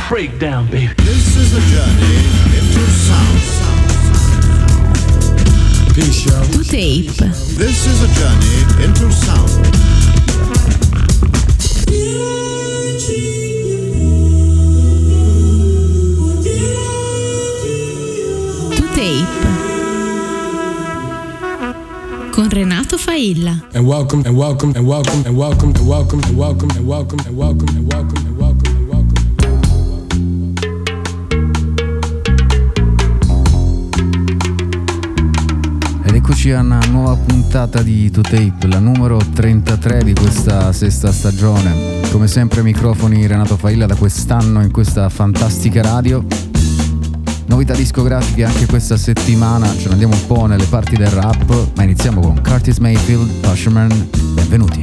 Breakdown, baby. This is a journey into sound. Peace, y'all. To Tape. This is a journey into sound. To Tape. Con Renato Failla. And welcome, and welcome, and welcome, and welcome, and welcome, and welcome, and welcome, and welcome, and welcome, and welcome, and welcome. Ed eccoci a una nuova puntata di To Tape, la numero 33 di questa sesta stagione. Come sempre microfoni Renato Failla da quest'anno in questa fantastica radio. Novità discografiche anche questa settimana, ce ne andiamo un po' nelle parti del rap, ma iniziamo con Curtis Mayfield, Pusherman. Benvenuti.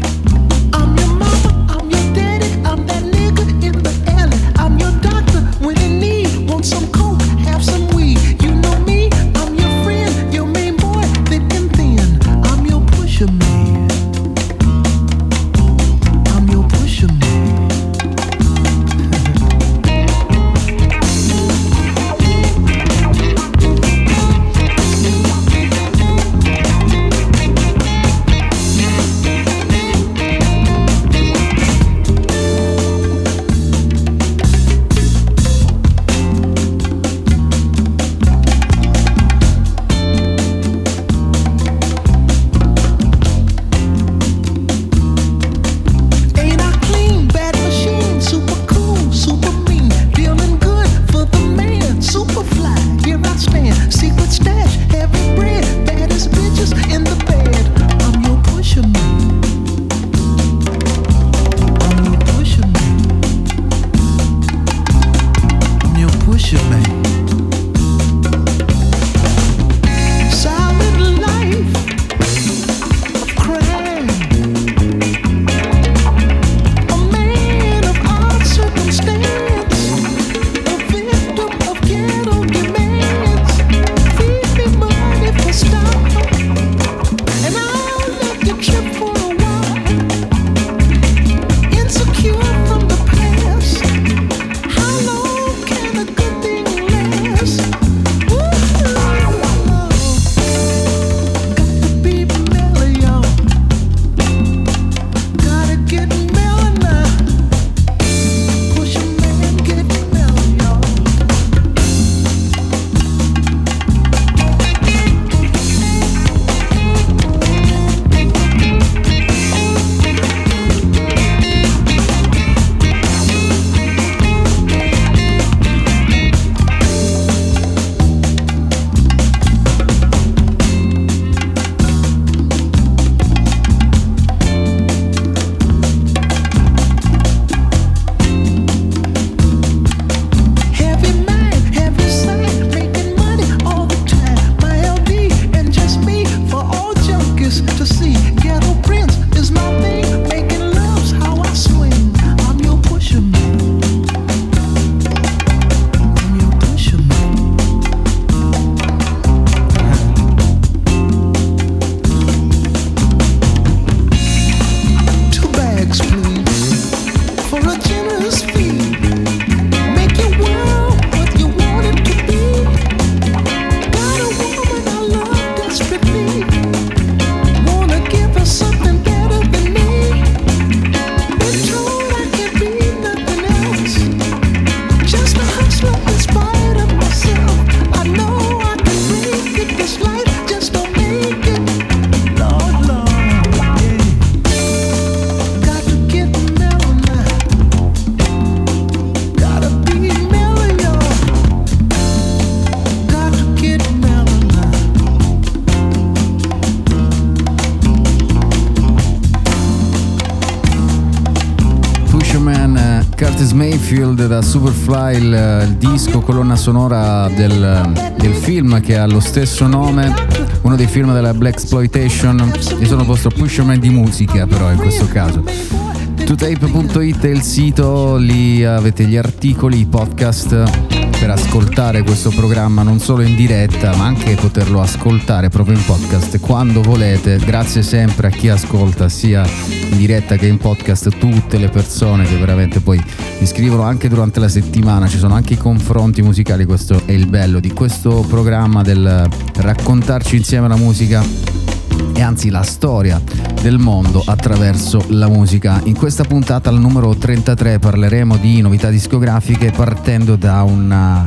Curtis Mayfield da Superfly, il disco colonna sonora del film che ha lo stesso nome, uno dei film della Blaxploitation. Io sono il vostro pusherman di musica, però in questo caso totape.it è il sito, lì avete gli articoli, i podcast per ascoltare questo programma non solo in diretta ma anche poterlo ascoltare proprio in podcast quando volete. Grazie sempre a chi ascolta sia in diretta che in podcast, tutte le persone che veramente poi mi scrivono anche durante la settimana, ci sono anche i confronti musicali. Questo è il bello di questo programma, del raccontarci insieme la musica e anzi la storia del mondo attraverso la musica. In questa puntata, al numero 33, parleremo di novità discografiche partendo da un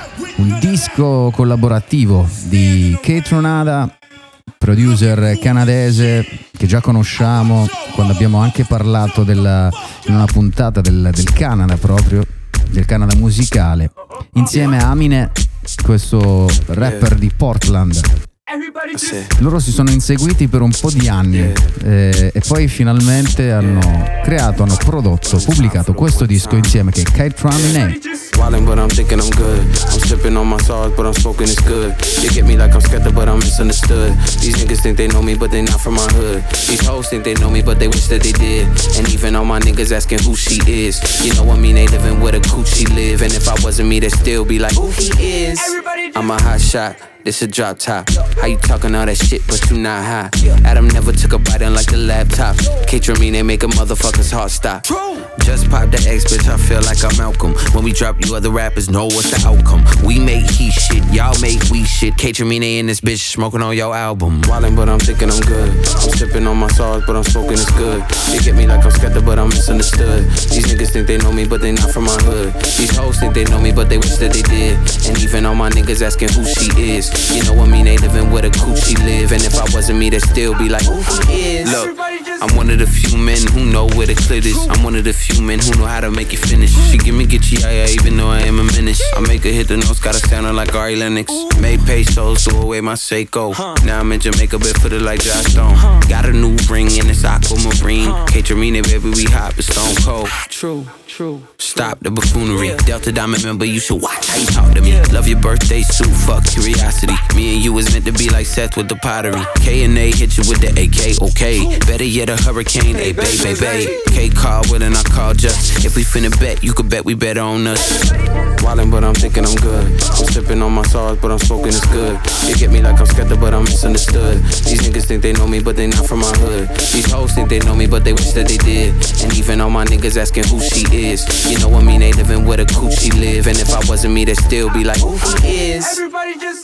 disco collaborativo di Kaytranada, producer canadese che già conosciamo quando abbiamo anche parlato in una puntata del Canada, proprio del Canada musicale, insieme a Aminé, questo rapper di Portland. Loro si sono inseguiti per un po' di anni e poi finalmente hanno prodotto, pubblicato questo disco insieme, che è Kaytranada. Wildin', but I'm thinking I'm good. I'm sipping on my sauce, but I'm smoking it's good. You get me like I'm skeptic, but I'm misunderstood. These niggas think they know me, but they not from my hood. These hoes think they know me, but they wish that they did. And even all my niggas asking who she is. You know what I mean? They living where the coochie live. And if I wasn't me, they'd still be like, who he is. I'm a hot shot. This a drop top. How you talking all that shit, but you not high? Adam never took a bite in like the laptop. Kaytranada, they make a motherfucker's heart stop. Just pop the X, bitch, I feel like I'm Malcolm. When we drop, you other rappers know what's the outcome. We make he shit, y'all make we shit. Kaytranada in this bitch, smoking on your album. Wildin', but I'm thinking I'm good. I'm sipping on my sauce, but I'm smoking it's good. You get me like I'm skeptic, but I'm misunderstood. These niggas think they know me, but they not from my hood. These hoes think they know me, but they wish that they did. And even all my niggas asking who she is. You know what I mean? They living where the coochie live. And if I wasn't me, they'd still be like, who he is. Look, I'm one of the few men who know where the clit is. I'm one of the few men who know how to make you finish. She give me Gitchy, even though I am a menace. I make her hit the notes, gotta sound like Ari Lennox. Made pesos, threw away my Seiko. Now I'm in Jamaica, barefooted like Josh Stone. Got a new ring and it's aquamarine. Kaytranada, baby, we hot, but stone cold. True. Stop the buffoonery. Delta Diamond member, you should watch how you talk to me. Love your birthday suit, fuck curiosity. Me and you was meant to be like Seth with the pottery. K&A hit you with the AK, okay. Better yet a hurricane, hey babe. K called with and I called just. If we finna bet, you could bet we better on us. Wildin', but I'm thinking I'm good. I'm sipping on my sauce, but I'm smoking it's good. You get me like I'm skeptic, but I'm misunderstood. These niggas think they know me, but they not from my hood. These hoes think they know me, but they wish that they did. And even all my niggas asking who she is. You know what I mean? They living where the coochie live. And if I wasn't me, they'd still be like, who he is. Everybody just...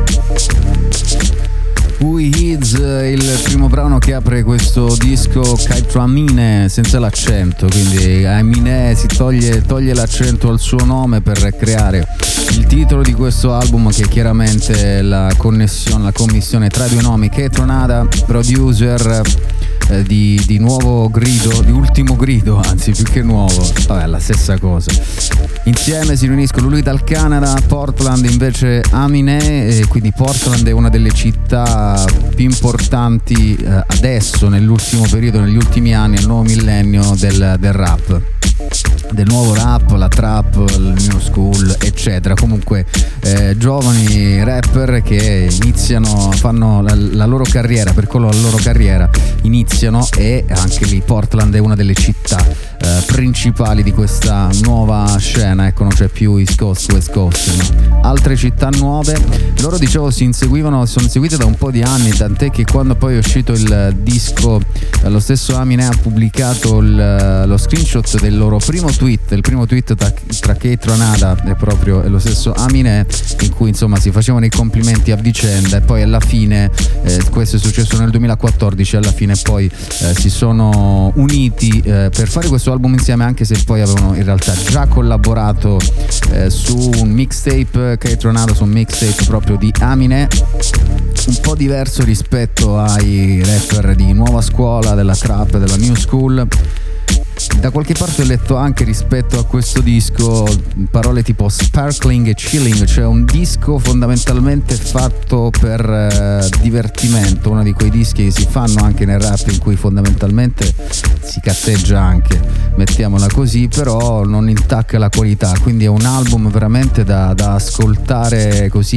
Who He Is, il primo brano che apre questo disco, Kaytranada senza l'accento, quindi Aminé si toglie l'accento al suo nome per creare il titolo di questo album, che è chiaramente la commissione tra i due nomi. Kaytranada, producer di nuovo grido, di ultimo grido, anzi più che nuovo, vabbè, la stessa cosa. Insieme si riuniscono lui dal Canada, Portland invece Aminé, e quindi Portland è una delle città più importanti adesso, nell'ultimo periodo, negli ultimi anni, nel nuovo millennio del rap. Del nuovo rap, la trap, il new school, eccetera. Comunque giovani rapper che iniziano, fanno la loro carriera, percorrono la loro carriera, iniziano, e anche lì Portland è una delle città principali di questa nuova scena. Ecco, non c'è più East Coast, West Coast, no. Altre città nuove. Loro, dicevo, sono inseguite da un po' di anni, tant'è che quando poi è uscito il disco, lo stesso Aminé ha pubblicato lo screenshot del loro primo tweet, il primo tweet tra Kaytranada e proprio lo stesso Aminé, in cui insomma si facevano i complimenti a vicenda, e poi alla fine, questo è successo nel 2014, alla fine poi si sono uniti per fare questo album insieme, anche se poi avevano in realtà già collaborato su un mixtape, Kaytranada su un mixtape proprio di Aminé, un po' diverso rispetto ai rapper di nuova scuola, della trap, della new school. Da qualche parte ho letto anche rispetto a questo disco parole tipo sparkling e chilling, cioè un disco fondamentalmente fatto per divertimento, uno di quei dischi che si fanno anche nel rap in cui fondamentalmente si cazzeggia anche, mettiamola così, però non intacca la qualità, quindi è un album veramente da ascoltare così, e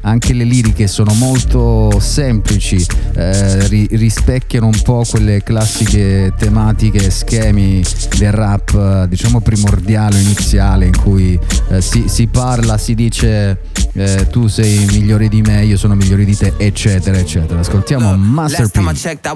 anche le liriche sono molto semplici, rispecchiano un po' quelle classiche tematiche, schemi del rap diciamo primordiale, iniziale, in cui si parla, si dice tu sei migliore di me, io sono migliore di te, eccetera eccetera. Ascoltiamo Master P.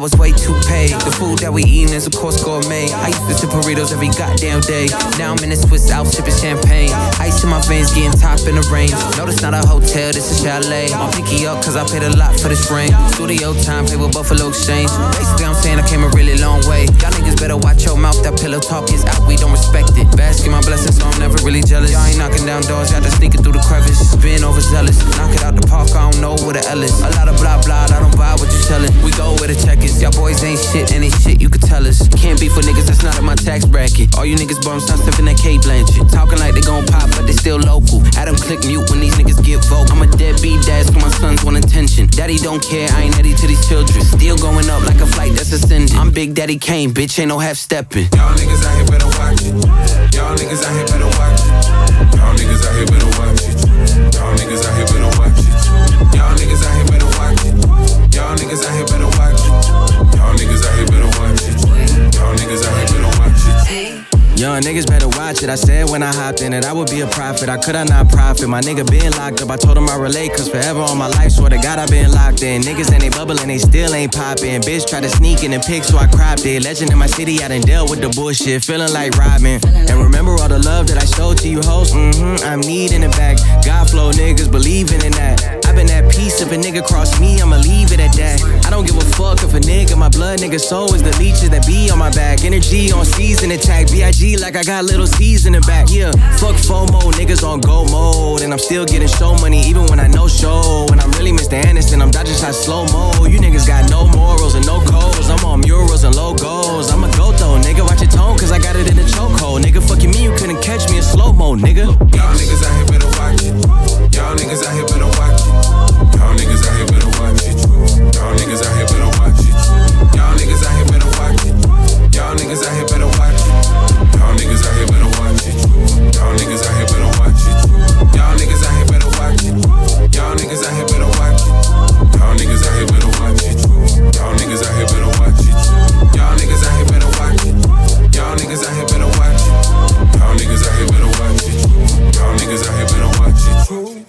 Now I'm in a Swiss Alps sipping champagne. Ice in my veins, getting top in the range. No, this not a hotel, this is chalet. I'm picky up cause I paid a lot for this ring. Studio time, pay with Buffalo Exchange. Basically I'm saying I came a really long way. Y'all niggas better watch your mouth, that pillow talk is out, we don't respect it. Basking my blessings, so I'm never really jealous. Y'all ain't knocking down doors, y'all just sneaking through the crevice. Being overzealous, knock it out the park, I don't know what the L is. A lot of blah blah, I don't buy what you selling. We go where the check is. Y'all boys ain't shit, any shit you could tell us. Can't be for niggas that's not in my tax bracket. All you niggas bums, stop sipping that Kate Blanchett. Talking like they gon' pop, but they still local. Adam click mute when these niggas get vocal. I'm a deadbeat dad, so my sons want attention. Daddy don't care, I ain't Eddie to these children. Still going up like a flight that's ascending. I'm Big Daddy Kane, bitch, ain't no half stepping. Y'all niggas out here better watch it. Y'all niggas out here better watch it. Y'all niggas out here better watch it. Y'all niggas out here better watch it. Y'all niggas out here better watch it. Y'all niggas out here better watch it. Y'all niggas out here better watch it. Y'all niggas out here better watch it. Young niggas better watch it. I said when I hopped in it, I would be a prophet. I could I not profit? My nigga been locked up. I told him I relate, cause forever all my life, swear to God, I been locked in. Niggas and they bubbling, they still ain't poppin'. Bitch tried to sneak in the pic, so I cropped it. Legend in my city, I done dealt with the bullshit. Feeling like Robin. And remember all the love that I showed to you hoes? I'm needing it back. God flow niggas believing in that. I've been at peace. If a nigga cross me, I'ma leave it at that. I don't give a fuck if a nigga, my blood nigga soul is the leeches that be on my back. Energy on season attack. B.I.G. like I got little C's in the back. Yeah, fuck FOMO, niggas on go mode. And I'm still getting show money even when I no show. When I'm really Mr. Anderson, I'm dodging shots slow-mo. You niggas got no morals and no codes. I'm on murals and logos. I'm a goat though, nigga, watch your tone, cause I got it in the chokehold. Nigga, fucking me, you couldn't catch me in slow-mo, nigga. Y'all niggas out here better watch it. Y'all niggas out here better watch it. Y'all niggas out here better watch it. Y'all niggas out here better watch it. Y'all niggas out here better watch it. Y'all niggas out here better watch it. Y'all niggas out here better watch it. Y'all niggas out here better watch it. Y'all niggas out here better watch it. Y'all niggas out here better watch it. Y'all niggas out here better watch it. Y'all niggas out here better watch it. Y'all niggas out here better watch it. Y'all niggas out here better watch it. Y'all niggas out here better watch it. Y'all niggas out here better watch it.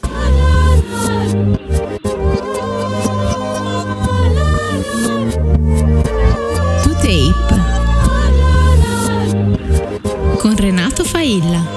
To Tape con Renato Failla.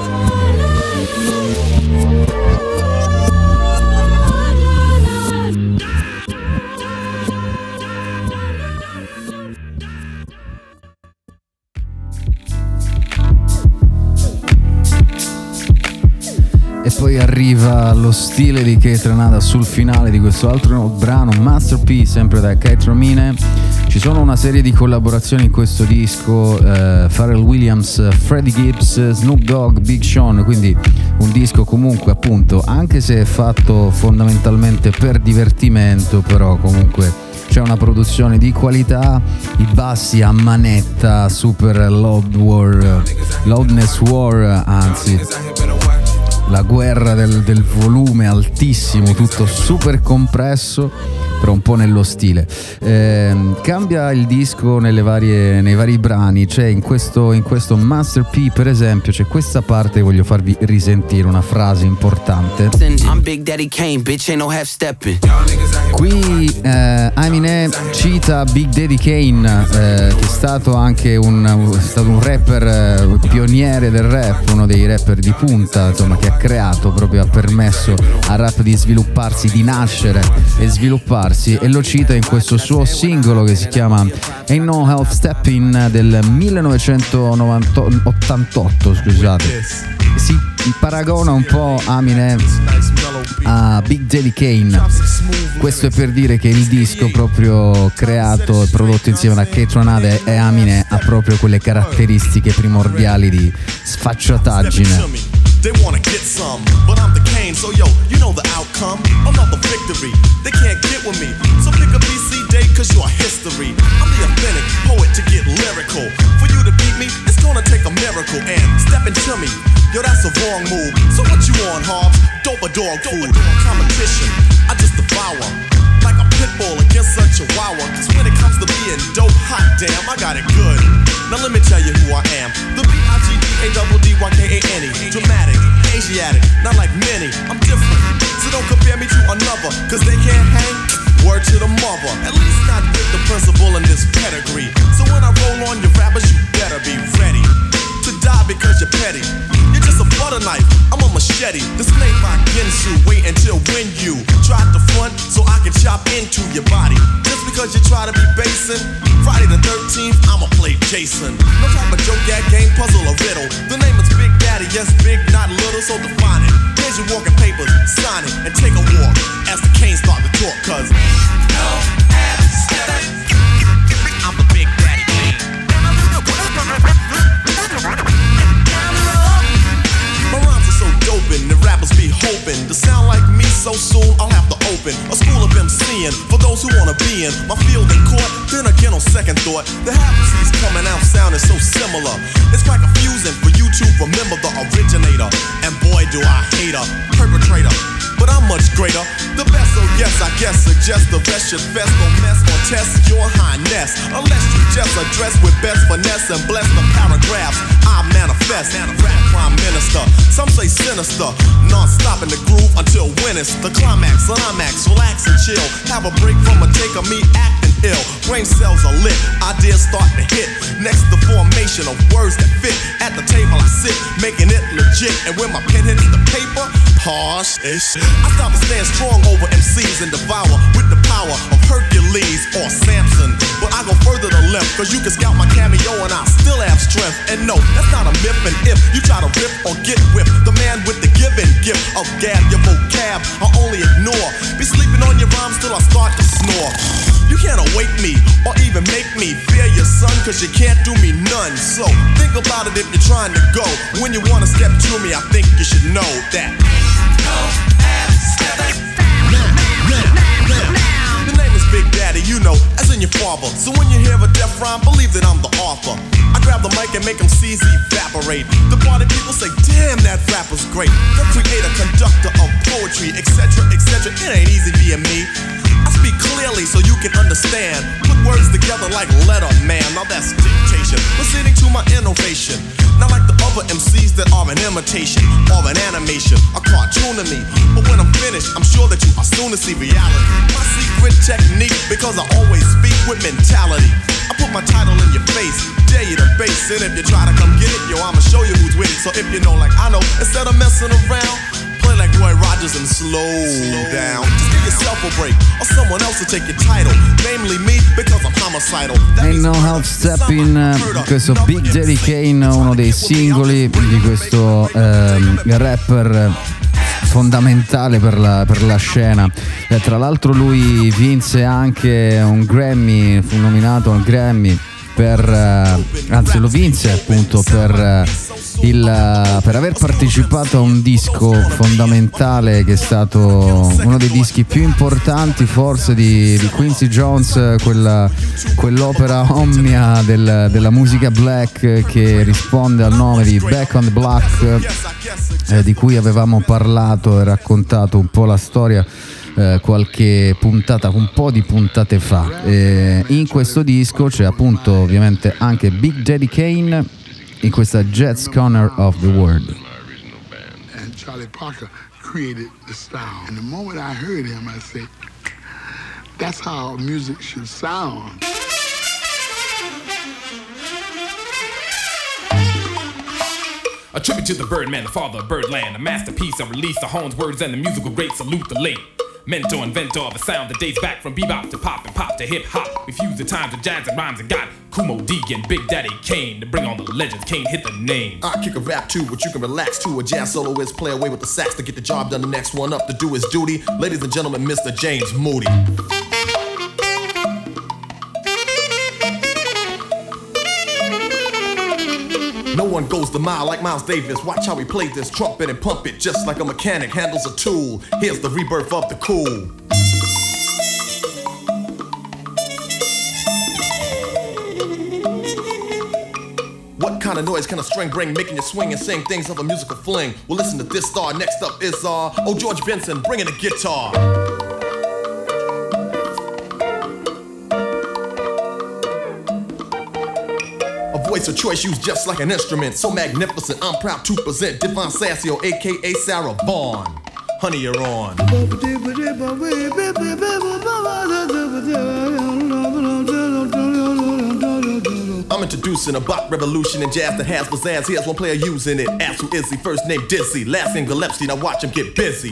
E poi arriva lo stile di Kate Ranada sul finale di questo altro brano, Master P, sempre da Kate Romine. Ci sono una serie di collaborazioni in questo disco, Pharrell Williams, Freddie Gibbs, Snoop Dogg, Big Sean, quindi un disco comunque appunto, anche se è fatto fondamentalmente per divertimento, però comunque c'è una produzione di qualità, i bassi a manetta, super loudness war, anzi la guerra del volume altissimo, tutto super compresso, però un po' nello stile. Cambia il disco nei vari brani. C'è in questo Master P, per esempio, c'è questa parte che voglio farvi risentire, una frase importante. Qui Eminem cita Big Daddy Kane, che è stato anche un rapper pioniere del rap, uno dei rapper di punta, insomma, che ha creato, proprio ha permesso al rap di svilupparsi, di nascere e svilupparsi, e lo cita in questo suo singolo che si chiama Ain't No Half Steppin' del 1988, scusate. Si paragona un po' Eminem a Big Daddy Kane. Questo è per dire che il disco proprio creato e prodotto insieme da Kate Ranada e Eminem ha proprio quelle caratteristiche primordiali di sfacciataggine. They wanna get some, but I'm the Kane, so yo, you know the outcome. Another victory, they can't get with me. So pick a BC date, cause you're history. I'm the authentic poet to get lyrical. For you to beat me, it's gonna take make a miracle and step into me. Yo, that's a wrong move. So what you on, Hobbs? Dope or dog food? Competition, I just devour. Like a pit bull against a chihuahua. Cause when it comes to being dope, hot damn, I got it good. Now let me tell you who I am. The B-I-G-D-A-D-D-Y-K-A-N-E. Dramatic, Asiatic, not like many. I'm different, so don't compare me to another. Cause they can't hang, word to the mother. At least not with the principal in this pedigree. So when I roll on your rappers, you better be ready to die because you're petty. You're just a butter knife, I'm a machete. This ain't my Ginsu, wait until when you try to front so I can chop into your body. Just because you try to be basing, Friday the 13th, I'ma play Jason. No type of joke, gag, game, puzzle, or riddle. The name is Big Daddy, yes, big, not little, so define it. Here's your walking papers, sign it, and take a walk as the Canes start to talk, cause I'm the Big Daddy Kane. My rhymes are so dopin', the rappers be hoping to sound like me so soon I'll have to open a school of MCing for those who wanna be in my field in court. Then again on second thought, the half-C's coming out sounding so similar. It's quite confusing for you to remember the originator. And boy do I hate a perpetrator, but I'm much greater. The best, so yes, I guess suggest the rest should best don't mess or test your highness. Unless you just address with best finesse and bless the paragraphs I manifest. Rap prime minister, some say sinister, non-stop in the groove until when it's the climax. Climax, relax and chill. Have a break from a take of me acting ill. Brain cells are lit, ideas start to hit. Next the formation of words that fit. At the table I sit, making it legit. And when my pen hits the paper, harsh-ish, I stop and stand strong over MCs and devour with the power of Hercules or Samson. But I go further to left, cause you can scout my cameo and I still have strength. And no, that's not a myth, and if you try to rip or get whipped, the man with the given gift of gab, your vocab I only ignore. Be sleeping on your rhymes till I start to snore. You can't awake me or even make me fear your son, cause you can't do me none. So think about it if you're trying to go. When you wanna step to me, I think you should know that the name is Big Daddy, you know, as in your father. So when you hear a death rhyme, believe that I'm the author. I grab the mic and make them C's evaporate. The party people say, damn, that rapper's great. The creator, conductor of poetry, etc., etc. It ain't easy being me. I speak clearly so you can understand. Put words together like letter man. Now that's dictation, proceeding to my innovation. Not like the other MCs that are an imitation or an animation, a cartoon to me. But when I'm finished, I'm sure that you are soon to see reality. My secret technique, because I always speak with mentality. I put my title in your face, dare you to base it. If you try to come get it, yo, I'ma show you who's with it. So if you know like I know, instead of messing around, play like Roy Rogers and slow down. Just give yourself a break, or someone else will take your title. Namely me, because I'm homicidal. Ain't No Half Stepping, questo Big Daddy Kane, uno dei singoli di questo rapper fondamentale per la scena. Tra l'altro lui vinse anche un Grammy, fu nominato al Grammy anzi lo vinse appunto per aver partecipato a un disco fondamentale che è stato uno dei dischi più importanti forse di Quincy Jones, quell'opera omnia della musica black che risponde al nome di Back on the Block, di cui avevamo parlato e raccontato un po' la storia qualche puntata, un po' di puntate fa. In questo disco c'è appunto ovviamente anche Big Daddy Kane in questa Jazz Corner of the World. And Charlie Parker created the style. And the moment I heard him, I said, that's how music should sound. A tribute to the Birdman, the father of Birdland, a masterpiece, a release of Horn's words and the musical great salute the late mentor, inventor of a sound that dates back from bebop to pop and pop to hip hop. We fuse the times with jazz and rhymes and got Kumo D and Big Daddy Kane to bring on the legends. Kane hit the name. I kick a rap too, but you can relax too. A jazz soloist play away with the sax to get the job done. The next one up to do his duty. Ladies and gentlemen, Mr. James Moody. No one goes the mile like Miles Davis. Watch how he plays this trumpet and pump it just like a mechanic handles a tool. Here's the rebirth of the cool. What kind of noise can a string bring, making you swing and sing things of a musical fling? Well, listen to this star. Next up is oh, George Benson, bringing the guitar. A voice of choice used just like an instrument, so magnificent. I'm proud to present Devon Sassio, aka Sarah Vaughan. Honey, you're on. I'm introducing a bop revolution in jazz that has pizzazz. Here's one player using it. Ask who is he? First name Dizzy, last name Gillespie. Now watch him get busy.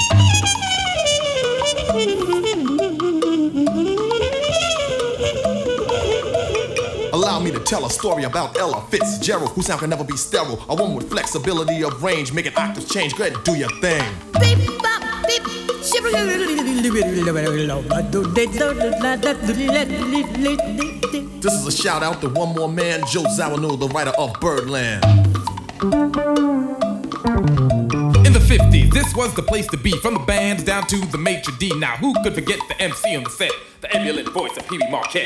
Allow me to tell a story about Ella Fitzgerald, whose sound can never be sterile. A woman with flexibility of range, making octaves change. Go ahead and do your thing. Beep, bop, beep. This is a shout out to one more man, Joe Zawinul, the writer of Birdland. In the 50s, this was the place to be, from the band down to the maitre d'. Now who could forget the MC on the set, the ebullient voice of Pee Wee Marquette?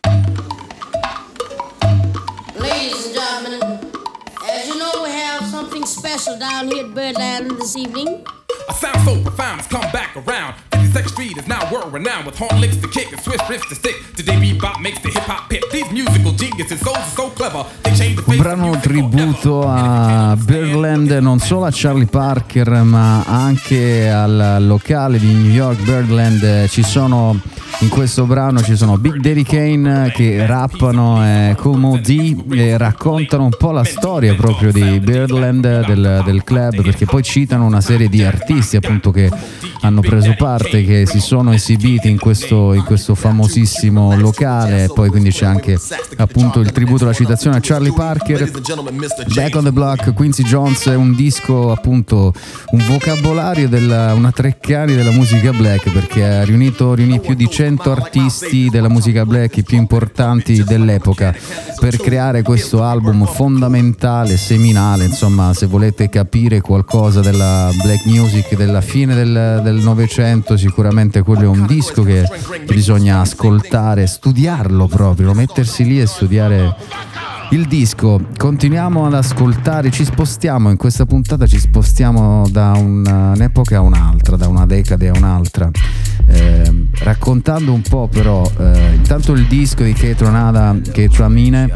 Ladies and gentlemen, as you know, we have something special down here at Birdland this evening. A sound so profound has come back around. 52nd Street is now world renowned, with horn licks to kick and swift riffs to stick. Today bebop makes the hip hop hit. These musical geniuses, souls are so clever. They change the face. Un brano tributo a Birdland, non solo a Charlie Parker ma anche al locale di New York Birdland. Ci sono in questo brano ci sono Big Daddy Kane che rappano e Kool Moe Dee e raccontano un po' la storia proprio di Birdland, del club, perché poi citano una serie di artisti appunto che hanno preso parte, che si sono esibiti in questo famosissimo locale. E poi quindi c'è anche appunto il tributo, la citazione a Charlie Parker. Back on the Block, Quincy Jones, è un disco appunto, un vocabolario una Treccani della musica black, perché ha riunì più di 100 artisti della musica black, i più importanti dell'epoca, per creare questo album fondamentale, seminale. Insomma, se volete capire qualcosa della black music della fine del Novecento, sicuramente quello è un disco che bisogna ascoltare, studiarlo proprio, mettersi lì e studiare il disco. Continuiamo ad ascoltare, ci spostiamo in questa puntata, ci spostiamo da un'epoca a un'altra, da una decade a un'altra, raccontando un po' però intanto il disco di Keitra Amine,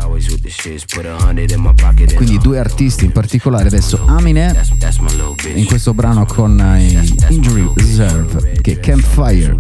quindi due artisti in particolare. Adesso Amine in questo brano con Injury Reserve, che è Campfire.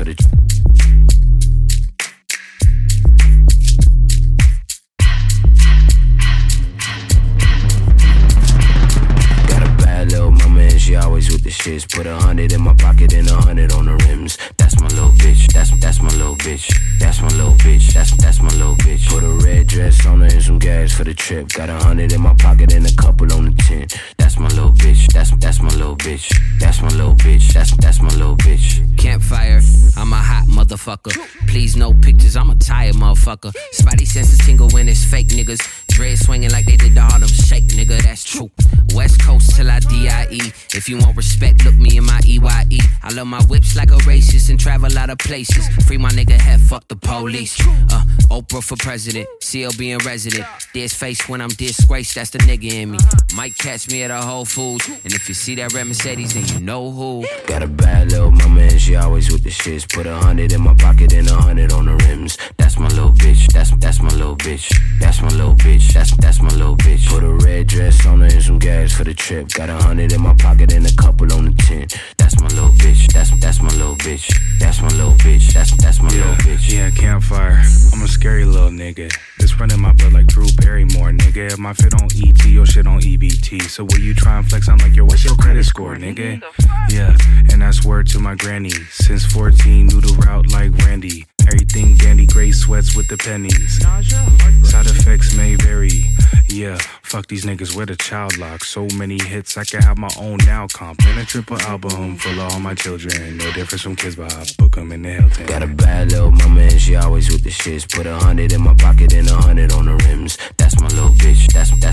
She always with the shits. Put 100 in my pocket and 100 on the rims. That's my little bitch. That's my little bitch. That's my little bitch. That's my little bitch. Put a red dress on her and some gas for the trip. Got 100 in my pocket and a couple on the tent. That's my little bitch. That's my little bitch. That's my little bitch. That's my little bitch. Campfire. I'm a hot motherfucker. Please no pictures. I'm a tired motherfucker. Spidey senses tingle when it's fake niggas. Dread swinging like they did the Harlem Shake, nigga. That's true. West Coast till I DIE. If you want respect, look me in my EYE. I love my whips like a racist and travel out of places. Free my nigga head, fuck the police. Oprah for president, CLB in resident. There's face when I'm disgraced, that's the nigga in me. Might catch me at a Whole Foods. And if you see that red Mercedes, then you know who. Got a bad little mama and she always with the shits. Put 100 in my pocket and 100 on the rims. That's my little bitch. That's my little bitch. That's my little bitch. That's my little bitch. Put a red dress on her and some gas for the trip. Got 100 in my pocket and a couple on the tent. That's my little bitch. That's my little bitch. That's my little bitch. That's my little bitch. Yeah, Campfire. I'm a scary little nigga. It's running my blood like Drew Barrymore, nigga. My fit on ET, your shit on EBT. So will you try and flex? I'm like, yo, what's your credit score, nigga? Yeah, and that's word to my granny. Since 14, knew the route like Randy. Everything dandy, gray sweats with the pennies. Side effects may vary. Yeah, fuck these niggas with a child lock. So many hits, I can have my own now comp. And a triple album full of all my children. No difference from Kids Bop, book them in the Hilton. Got a bad little mama and she always with the shits. Put 100 in my pocket and 100 on the rims. That's my little bitch. That's my little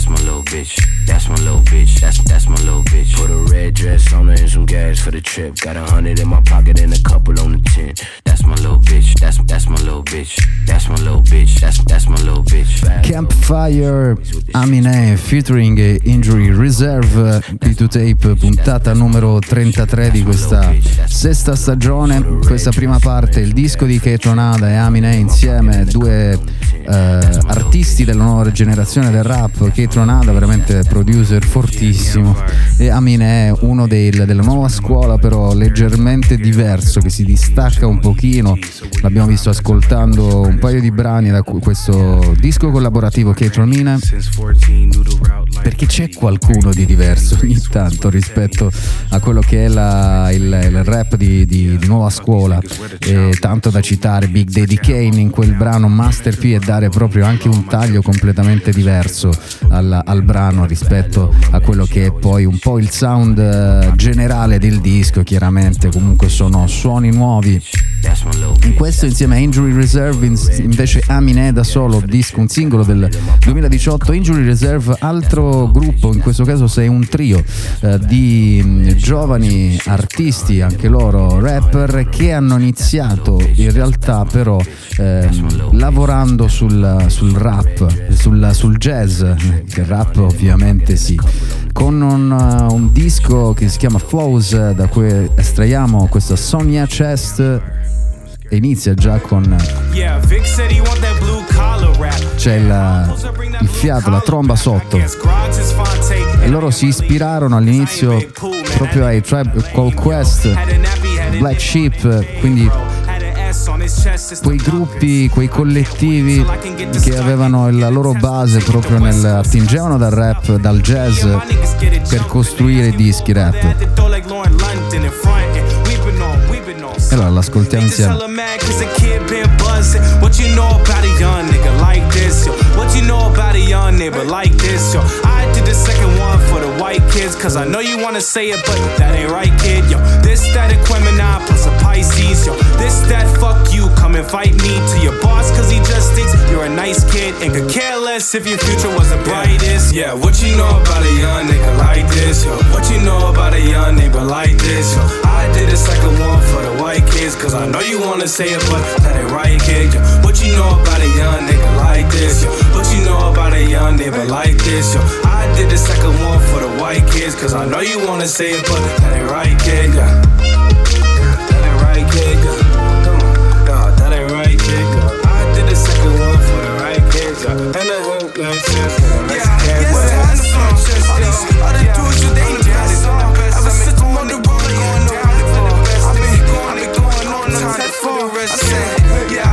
bitch. That's my little bitch. That's my little bitch. Put a red dress on her and some gas for the trip. Got 100 in my pocket and a couple on the tent. That's my little bitch. That's my little bitch. That's my little bitch. That's my little bitch. Campfire, Aminé featuring Injury Reserve, P2Tape, puntata numero 33 di questa sesta stagione. Questa prima parte, il disco di Kaytranada e Aminé insieme, due artisti della nuova generazione del rap. Kaytranada veramente producer fortissimo e Aminé uno della nuova scuola, però leggermente diverso, che si distacca un pochino. L'abbiamo visto ascoltando un paio di brani da questo disco collaborativo Kaytranada, perché c'è qualcuno di diverso ogni tanto rispetto a quello che è il rap di nuova scuola, e tanto da citare Big Daddy Kane in quel brano Master P e dare proprio anche un taglio completamente diverso al brano rispetto a quello che è poi un po' il sound generale del disco. Chiaramente comunque sono suoni nuovi. In questo insieme a Injury Reserve invece Aminé da solo, disco, un singolo del 2018. Injury Reserve, altro gruppo, in questo caso sei un trio di giovani artisti, anche loro rapper, che hanno iniziato in realtà però lavorando sul rap, sul jazz, il rap ovviamente sì, con un disco che si chiama Flows, da cui estraiamo questa Sonia Chest. E inizia già con c'è il fiato, la tromba sotto, e loro si ispirarono all'inizio proprio ai Tribe Called Quest, Black Sheep, quindi quei gruppi, quei collettivi che avevano la loro base proprio attingevano dal rap, dal jazz, per costruire dischi rap. E allora l'ascoltiamo insieme. What you know about a young nigga like this, yo? What you know about a young nigga like this, yo? I did the second one for the white kids, cause I know you wanna say it, but that ain't right, kid, yo. This, that, Aquemini plus a Pisces, yo. This, that, fuck you, come invite me to your boss, cause he just thinks you're a nice kid and could care less if your future was the brightest. Yeah, what you know about a young nigga like this, yo? What you know about a young nigga like this, yo? I did the second one for the white kids, cause I know you wanna say it, but that ain't right, kid, yo. What you know about a young nigga like this, yo? What you know about a young nigga like this, yo? I did the second one for the white kids, cause I know you wanna say it, but that ain't right, kid, yeah. That ain't right, kid, yeah. Come on, nah, that ain't right, kid, yeah. I did the second one for the right kids, yeah. And the hook, like, yeah, yes, all the dudes you they just ever since I'm on the road, I've been going on the time for the rest, I said, yeah.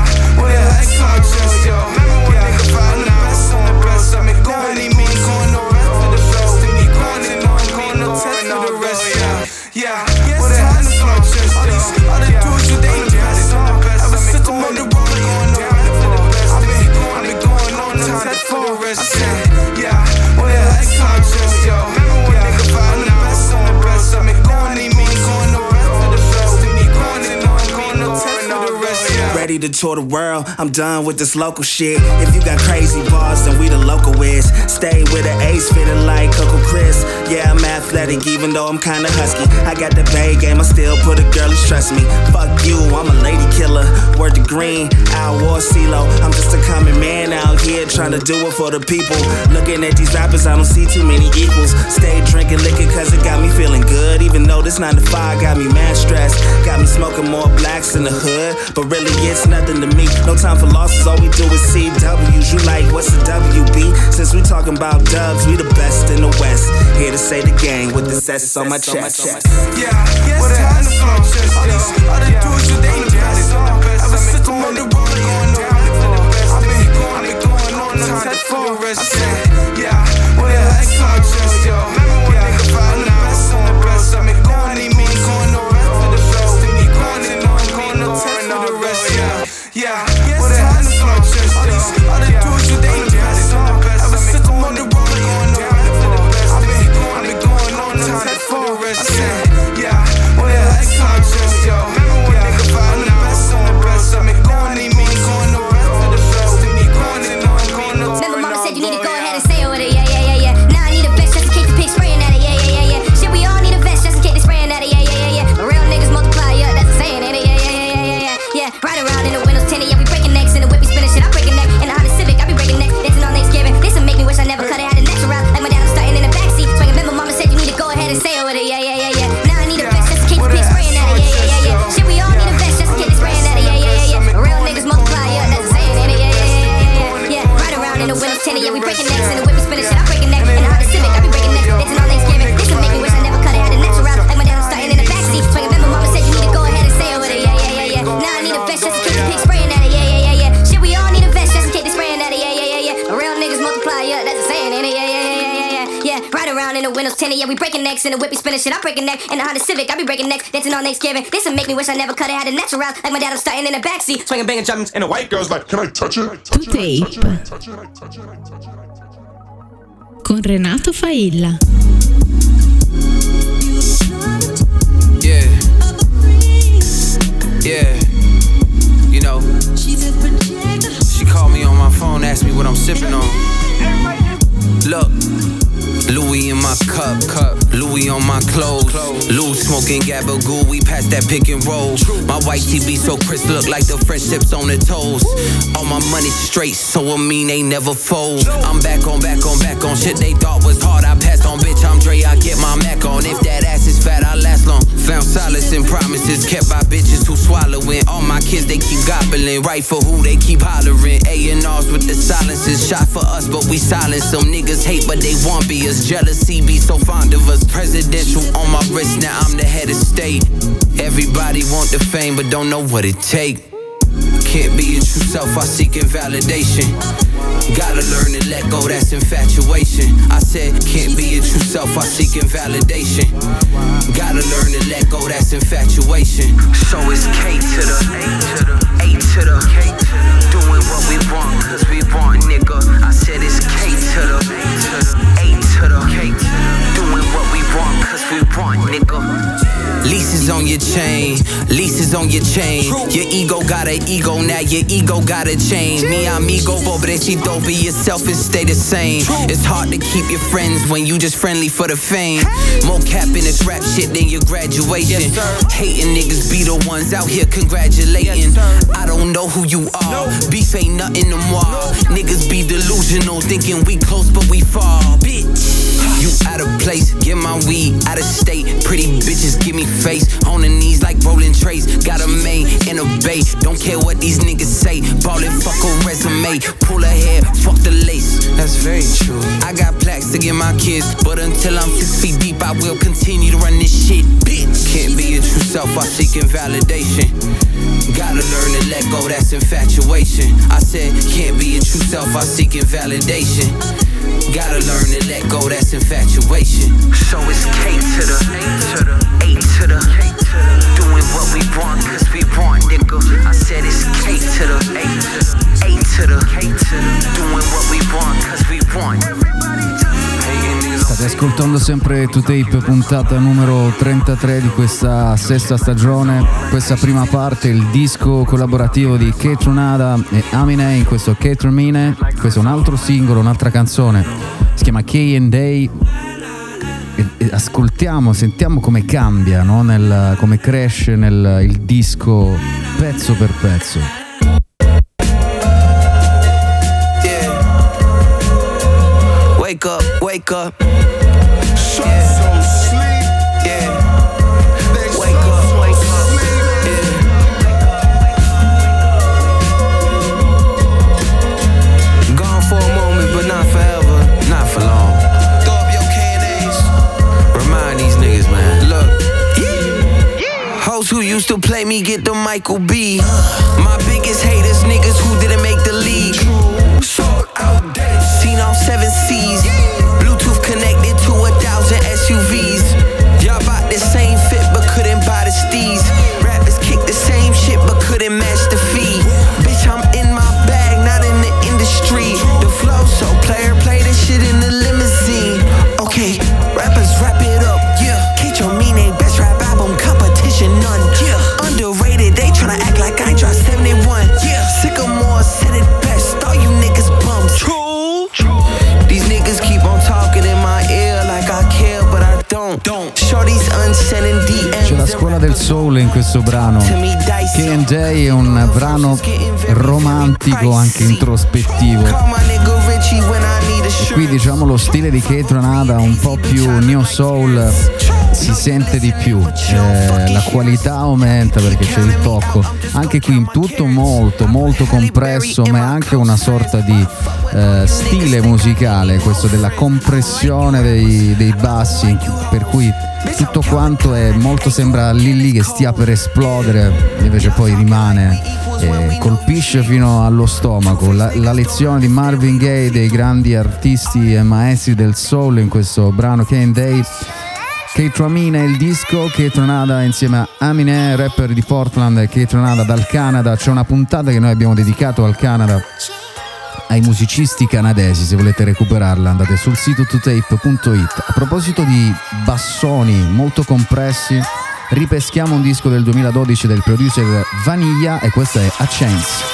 Ready to tour the world, I'm done with this local shit. If you got crazy bars, then we the local whiz. Stay with an ace, feeling like Coco Chris. Yeah, I'm athletic, even though I'm kinda husky. I got the Bay game, I still put a girlies, trust me. Fuck you, I'm a lady killer. Word to Green, Al War, CeeLo. I'm just a common man out here trying to do it for the people. Looking at these rappers, I don't see too many equals. Stay drinking liquor cause it got me feeling good. Even though this 9 to 5 got me mad stressed. Got me smoking more blacks in the hood, but really it's nothing to me. No time for losses, all we do is CWs. You like, what's the WB? Since we talking about dubs, we the best in the West. Here to say the gang with the S on my chest. Yeah, yes, what a time to flow. All the dudes you they just ever since I'm on the road, I've been going on the time for the rest. I said, yeah, what a time to flow, yo. Yeah, I'm the best on the best. I've been going on the rest of the show. Going on the rest, yeah. Yeah, what a time to flow. All the dudes you they just ever since I'm on the road, I've been going on the time for the rest. I said, yeah, what a time to flow, yo. Yeah, I'm the best on the best. I've been going on the rest of the show. Going on the Remember mama said you need to go ahead and say your Yeah, ride around in the windows tinted. Yeah, we breaking necks in the whip, we spinning shit. I'm breaking neck in the Honda Civic. I be breaking necks, dancing on Thanksgiving. This'll make me wish I never coulda had a natural route. Like my dad, I'm starting in the backseat, swinging, banging, jumping, and the white girl's like, can I touch it? To Tape con Renato Failla. Yeah, yeah, you know, she called me on my phone, asked me what I'm sipping on. Look, Louis in my cup, Louis on my clothes. Lou smoking Gabagoo, we pass that pick and roll. My white tee be so crisp, look like the French tips on the toes. All my money straight, so I mean they never fold. I'm back on shit they thought was hard. I passed on, bitch, I'm Dre, I get my Mac on. If that ass is fat, I last long. Found solace in promises kept by bitches who swallowing. All my kids, they keep gobbling. Right for who, they keep hollering. A&Rs with the silences. Shot for us, but we silence. Some niggas hate, but they want be us. Jealousy be so fond of us. Presidential on my wrist, now I'm the head of state. Everybody want the fame, but don't know what it take. Can't be your true self, I seeking validation. Gotta learn to let go, that's infatuation. I said, can't be your true self, I seeking validation. Gotta learn to let go, that's infatuation. So it's K to the A to the K to the doing what we want, cause we want, nigga. I said it's K to the A to the K to the doing what we want, cause we want, nigga. Leases on your chain, leases on your chain. Your ego got an ego, now your ego got a chain. Mi amigo, pobrecito, be yourself and stay the same. It's hard to keep your friends when you just friendly for the fame. More cap in this rap shit than your graduation. Hating niggas be the ones out here congratulating. I don't know who you are, beef ain't nothing no more. Niggas be delusional, thinking we close but we far. Bitch, you out of place, get my weed out of state. Pretty bitches give me face, on the knees like rolling trays. Got a main and a bay, don't care what these niggas say. Ballin', fuck a resume, pull her hair, fuck the lace. That's very true. I got plaques to give my kids, but until I'm 6 feet deep, I will continue to run this shit. Bitch, can't be your true self, I seeking validation. Gotta learn to let go, that's infatuation. I said, can't be your true self, I seeking validation. Gotta learn to let go, that's infatuation. So it's K to the A to the doing what we want, cause we want, nigga. I said it's K to the A to the doing what we want, cause we want. State ascoltando sempre To Tape, puntata numero 33 di questa sesta stagione. Questa prima parte, il disco collaborativo di Kaytranada e Aminé. In questo Kaytranada, questo è un altro singolo, un'altra canzone, si chiama K&A. E ascoltiamo, sentiamo come cambia, no? Come cresce il disco pezzo per pezzo. Wake up, wake up. Yeah. Yeah. Wake up, wake up. Yeah. Gone for a moment, but not forever, not for long. Throw up your K&As. Remind these niggas, man. Look. Hoes who used to play me get the Michael B. My biggest haters, niggas who didn't make the league. Sold out dead. Seen all 7 C's. Bluetooth connected to 1,000 SUVs. Y'all bought the same fit but couldn't buy the steez. Rappers kick the same shit but couldn't match the fee. Bitch, I'm in my bag, not in the industry. The flow so player play this shit in the limousine. Okay, rappers wrap it up. Yeah, Kaytranada best rap album competition none. Yeah, underrated, they tryna act like I dropped 71. Yeah, Sycamore said it best, all you niggas bums. True. These niggas keep on talking in my ear like I care, but I don't. Shorty's unsending DMs. C'è la scuola del soul in questo brano. K&A è un brano romantico, anche introspettivo. E qui diciamo lo stile di Kaytranada un po' più neo soul si sente di più, la qualità aumenta perché c'è il tocco. Anche qui tutto molto molto compresso, ma è anche una sorta di stile musicale, questo della compressione dei bassi, per cui tutto quanto è molto, sembra lì che stia per esplodere, invece poi rimane e colpisce fino allo stomaco. La lezione di Marvin Gaye, dei grandi artisti e maestri del soul, in questo brano Kane Day. Kaytranada il disco, Kaytranada insieme a Aminé, rapper di Portland, e Kaytranada dal Canada. C'è una puntata che noi abbiamo dedicato al Canada, ai musicisti canadesi. Se volete recuperarla andate sul sito totape.it. A proposito di bassoni molto compressi, ripeschiamo un disco del 2012 del producer Vanilla, e questa è A Chance.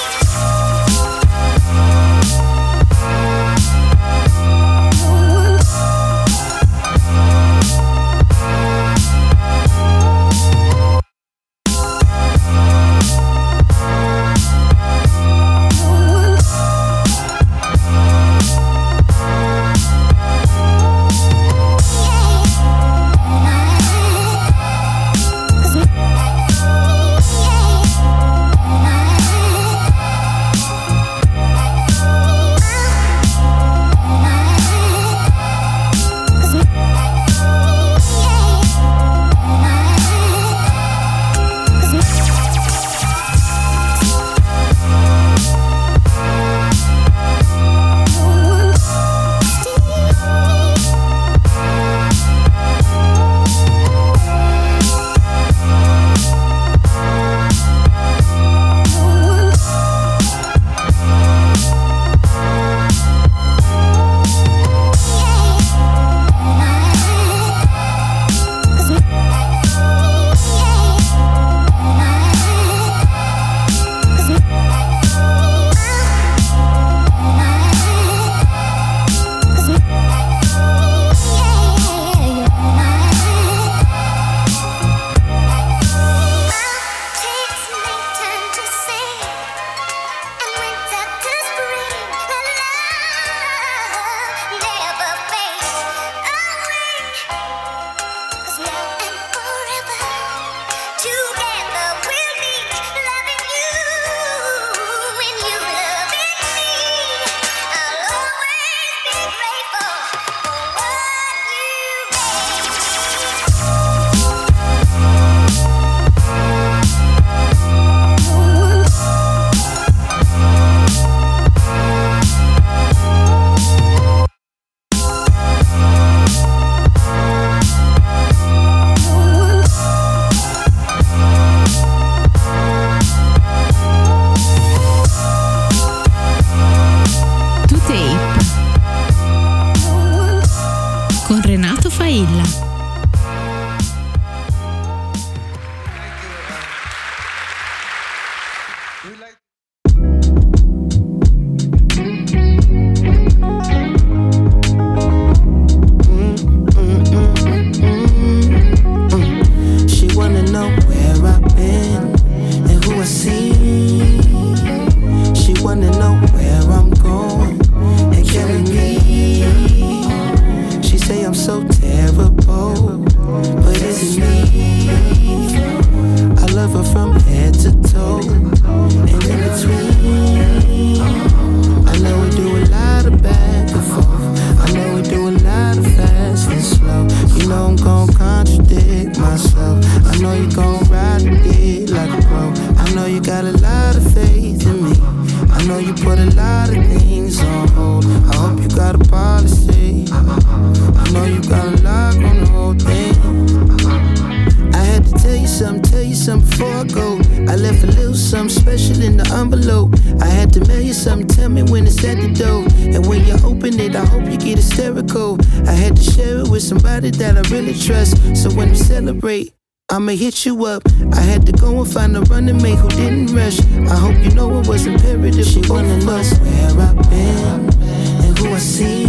I'ma hit you up. I had to go and find a running mate who didn't rush. I hope you know it was imperative. She wanna know where I've been and who I see.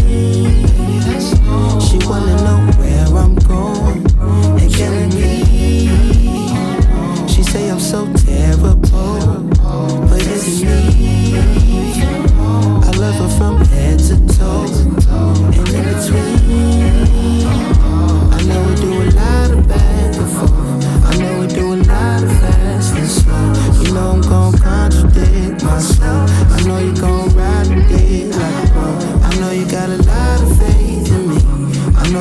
She wanna know where I'm going and killing me. She say I'm so terrible, but is it me? I love her from head to toe and in between. I know we do a lot of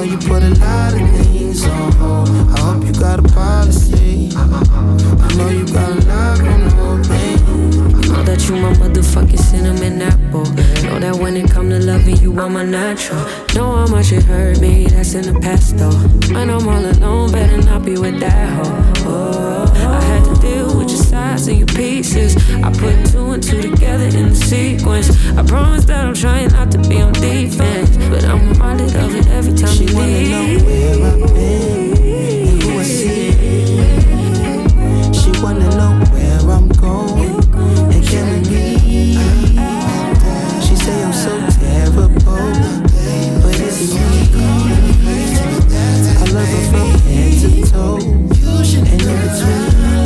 know you put a lot of things on hold. I hope you got a policy. I know you got a lot on hold, babe. Know that you my motherfucking cinnamon apple. Know that when it come to loving you, I'm a natural. Know how much it hurt me, that's in the past though. When I'm all alone, better not be with that hoe. Oh, I had to deal with your sides and your pieces. I put two and two together in the sequence. I promise that I'm trying not to be on defense, but I'm reminded of it every time she you leave. She wanna know where I've been and who I see. She wanna know where I'm going and can we leave. She say I'm so terrible, but it's me. I love her from head to toe and in between.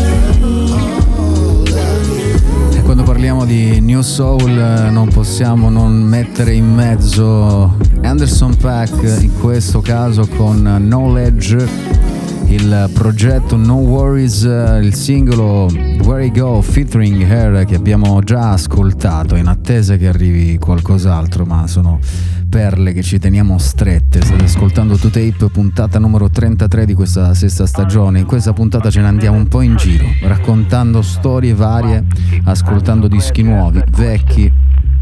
E quando parliamo di New Soul non possiamo non mettere in mezzo Anderson .Paak, in questo caso con Knowledge, il progetto No Worries, il singolo Where I Go featuring Her che abbiamo già ascoltato, in attesa che arrivi qualcos'altro, ma sono perle che ci teniamo strette. State ascoltando 2Tape, puntata numero 33 di questa sesta stagione. In questa puntata ce ne andiamo un po' in giro, raccontando storie varie, ascoltando dischi nuovi, vecchi,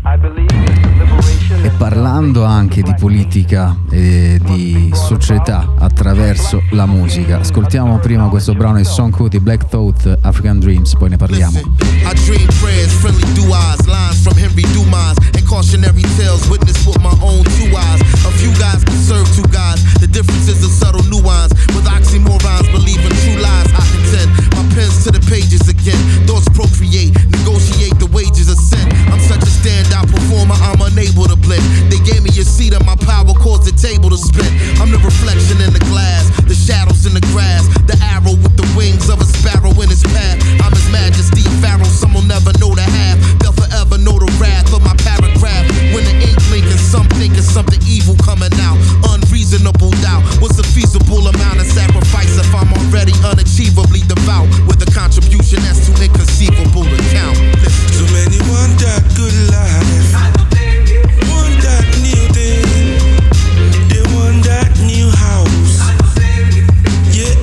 e parlando anche di politica e di società attraverso la musica. Ascoltiamo prima questo brano di Sean Kuti, Black Thought, African Dreams, poi ne parliamo. I dream prayers, friendly duos, lines from Henry Dumas, and cautionary tales witnessed with my own two eyes. A few guys can serve two guys, the difference is a subtle nuance. With oxymorons, believing true lies, I contend. My pen's to the pages again, thoughts procreate, negotiate the wages of sin. I'm such a standout performer, I'm unable to blend. They gave me a seat and my power caused the table to spin. I'm the reflection in the glass, the shadows in the grass, the arrow with the wings of a sparrow in its path. I'm His Majesty, a pharaoh, some will never know the half. They'll forever know the wrath of my paragraph. When the ink blinking, some thinking something evil coming out. Unreasonable doubt, what's a feasible amount of sacrifice if I'm already unachievably devout? With a contribution that's too inconceivable to count. So many want that good life, want that new thing, they want that new house, yeah.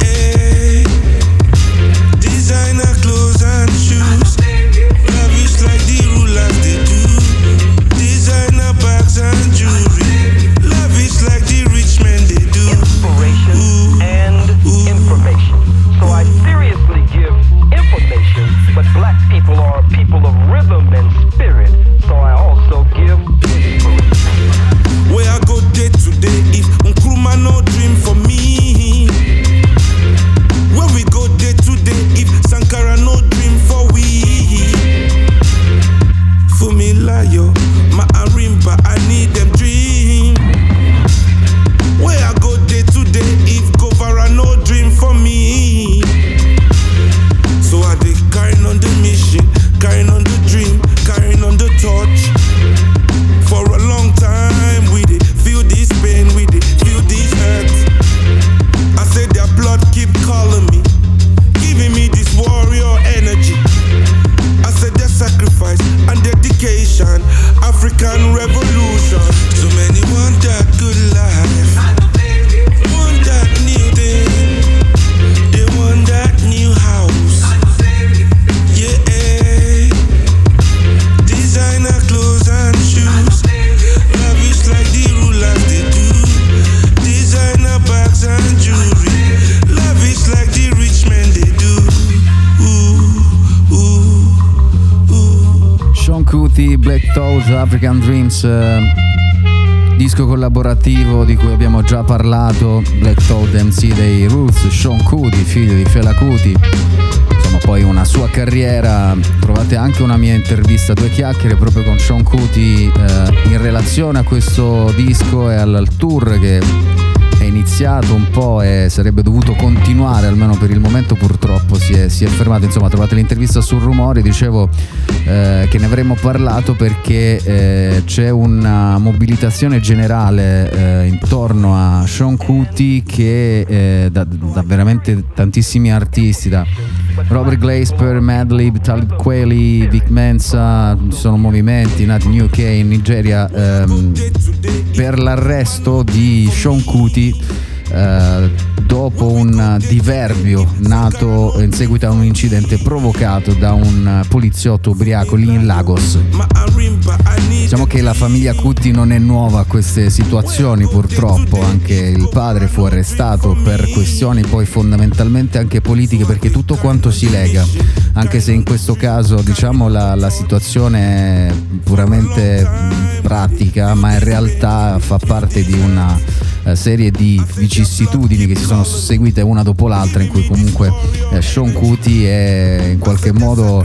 Designer clothes and shoes, lavish like the rulers they do. Designer bags and jewelry, lavish like the rich men they do. Inspiration and information. So I seriously give information, but black people are people of rhythm and spirit. So I also give inspiration. Where I go day to day, if Nkrumah no dream for me. Where we go day to day, if Sankara no dream for we. Fumilayo, my Arimba, I need them dream. Where I go day to day, if Govara no dream for me. So I dey carrying on the mission, carrying on the dream, carrying on the torch. For a long time we dey feel this pain, we dey feel this hurt. I say their blood keep calling me, giving me this warrior energy. I said their sacrifice and dedication, African revolution. So many want that good life, want that new thing, they want that new house, yeah. Designer clothes and shoes, lavish like the rulers they do. Designer bags and jewelry, lavish like the rich men they do. Sean Kuti, Black Thought, African Dreams, disco collaborativo di cui abbiamo già parlato. Black Thought, MC dei Roots, Sean Kuti, figlio di Fela Kuti. Insomma, poi una sua carriera, trovate anche una mia intervista, due chiacchiere proprio con Sean Kuti in relazione a questo disco e al tour che è iniziato un po' e sarebbe dovuto continuare, almeno per il momento purtroppo purtroppo si è fermato. Insomma, trovate l'intervista sul Rumore, dicevo che ne avremmo parlato perché c'è una mobilitazione generale intorno a Sean Kuti che da veramente tantissimi artisti, da Robert Glasper, Madlib, Talib Kweli, Vic Mensa, ci sono movimenti nati in UK, in Nigeria, per l'arresto di Sean Kuti dopo un diverbio nato in seguito a un incidente provocato da un poliziotto ubriaco lì in Lagos. Diciamo che la famiglia Kuti non è nuova a queste situazioni, purtroppo anche il padre fu arrestato per questioni poi fondamentalmente anche politiche, perché tutto quanto si lega, anche se in questo caso diciamo la situazione è puramente pratica, ma in realtà fa parte di una serie di vicissitudini che si sono seguite una dopo l'altra, in cui comunque Sean Kuti è in qualche modo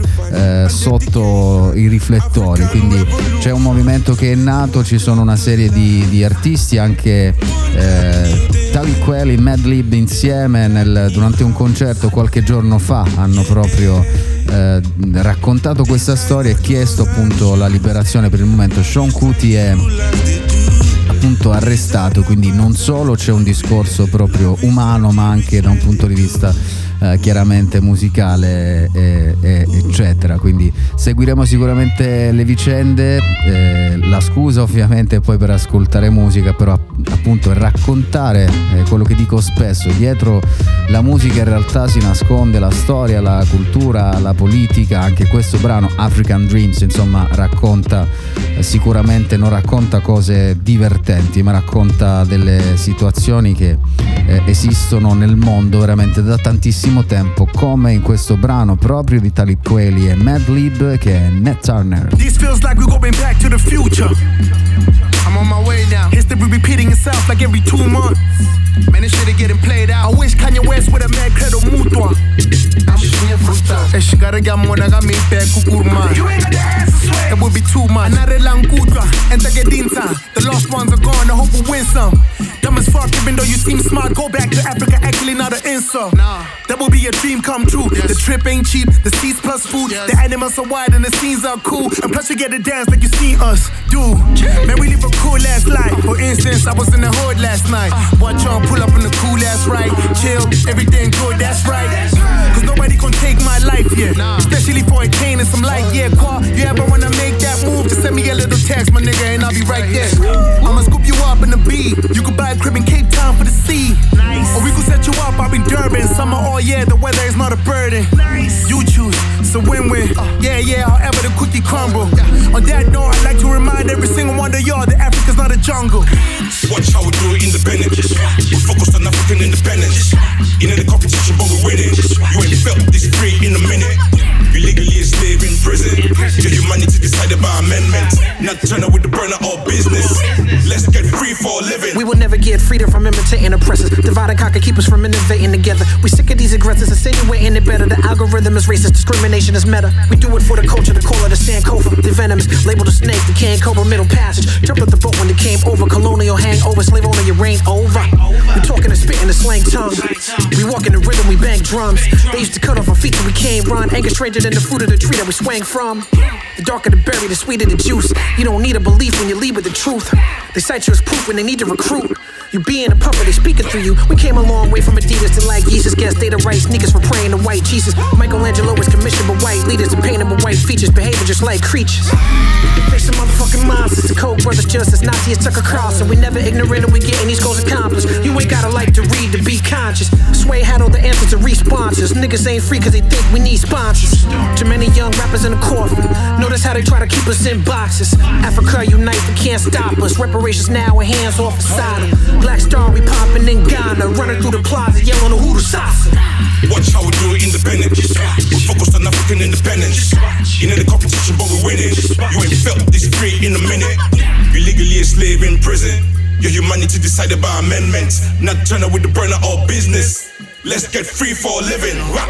sotto i riflettori. Quindi c'è un movimento che è nato, ci sono una serie di artisti, anche Talib Kweli e Madlib insieme durante un concerto qualche giorno fa hanno proprio raccontato questa storia e chiesto appunto la liberazione. Per il momento Sean Kuti è appunto arrestato, quindi non solo c'è un discorso proprio umano, ma anche da un punto di vista chiaramente musicale eccetera. Quindi seguiremo sicuramente le vicende, la scusa ovviamente poi per ascoltare musica, però appunto raccontare quello che dico spesso: dietro la musica in realtà si nasconde la storia, la cultura, la politica. Anche questo brano African Dreams insomma racconta, sicuramente non racconta cose divertenti, ma racconta delle situazioni che esistono nel mondo veramente da tantissimo tempo, come in questo brano proprio di Talib Kweli e Madlib, che è Nat Turner. This feels like we're going back to the future. I'm on my way now. History repeating itself like every 2 months. Man, this shit is getting played out. I wish Kanye West would have made credo mutua. E shigare gamona ga me pe kukurma. You ain't got the answer, swear. It would be too much. Another langutra, enter gedinta. The lost ones are gone, I hope we win some. Dumb as fuck, even though you seem smart. Go back to Africa, actually not an insult. Nah. That will be a dream come true. Yes. The trip ain't cheap, the seats plus food. Yes. The animals are wide and the scenes are cool. And plus you get to dance like you seen us do. Man, we live a cool ass life. For instance, I was in the hood last night. Watch y'all pull up in the cool ass ride. Chill, everything good, that's right. Cause nobody gon' take my life, yeah. Especially for a cane and some light, yeah. Qua, you ever wanna make that move? Just send me a little text, my nigga, and I'll be right there. I'ma scoop you up in the B. You can buy a crib in Cape Town for the sea. Nice. Or we could set you up in Durban. Summer all year, the weather is not a burden. Nice. You choose, it's a win-win. Yeah, however the cookie crumble. On that note, I'd like to remind every single one of y'all that Africa's not a jungle. Watch how we do it independent. We focused on African independence. In the competition, but we winning. You ain't felt this free in a minute. You legally a slave in prison. Your humanity decided by amendment. Not Turner with the burner all business. Let's get free for a living. We will never get freedom from imitating oppressors. Divide and conquer, keep us from innovating together. We sick of these aggressors, insinuating it better. The algorithm is racist, discrimination is meta. We do it for the culture, the call of the Sankofa. The venomous, labeled a snake, the can cobra, middle passage. Jumped off the boat when it came over. Colonial hangover, slave owner, your reign over. We talking and spitting the slang tongue. We walk in the rhythm, we bang drums. They used to cut off our feet so we can't run. Anger stranger than the fruit of the tree that we swang from. The darker the berry, the sweeter the juice. You don't need a belief when you lead with the truth. They cite you as proof when they need to recruit. You being a puppet, they speaking through you. We came a long way from Adidas to like Jesus. Guess they the right sneakers for praying to white Jesus. Michelangelo was commissioned by white leaders to paint them with white features, behaving just like creatures. They some motherfucking monsters. The Koch brothers just as Nazi as Tucker Carlson. We never ignorant and we getting these goals accomplished. You ain't gotta like to read to be conscious. Sway had all the answers to re-sponsors. Niggas ain't free cause they think we need sponsors. Too many young rappers in the coffin. Notice how they try to keep us in boxes. Africa unite, they can't stop us. Reparations now with hands off the side. Black Star, we poppin' in Ghana. Running through the plaza, yelling the Hoodoo Sasa. Watch how we do it independent. We focused on African independence. In the competition, but we winning. You ain't felt this free in a minute. You legally a slave in prison. Your humanity decided by amendment. Not Turner with the burner all business. Let's get free for a living. Rap.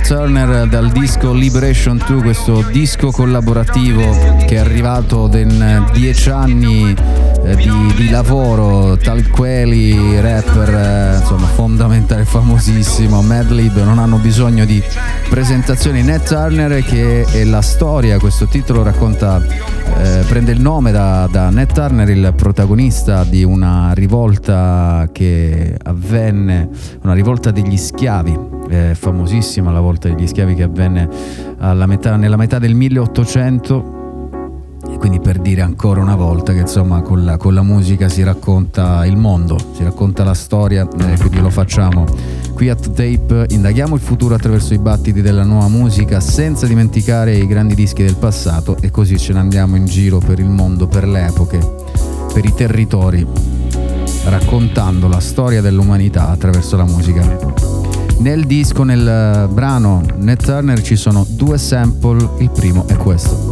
Turner dal disco Liberation 2, questo disco collaborativo che è arrivato in 10 anni di lavoro. Talib Kweli, rapper insomma fondamentale, famosissimo, Madlib, non hanno bisogno di presentazioni. Nat Turner, che è la storia, questo titolo racconta, prende il nome da Nat Turner, il protagonista di una rivolta che avvenne, una rivolta degli schiavi, famosissima la volta degli schiavi che avvenne nella metà del 1800. E quindi per dire ancora una volta che insomma con la musica si racconta il mondo, si racconta la storia, quindi lo facciamo qui a Tape. Indaghiamo il futuro attraverso i battiti della nuova musica senza dimenticare i grandi dischi del passato, e così ce ne andiamo in giro per il mondo, per le epoche, per i territori, raccontando la storia dell'umanità attraverso la musica. Nel disco, nel brano Nat Turner, ci sono 2 sample, il primo è questo.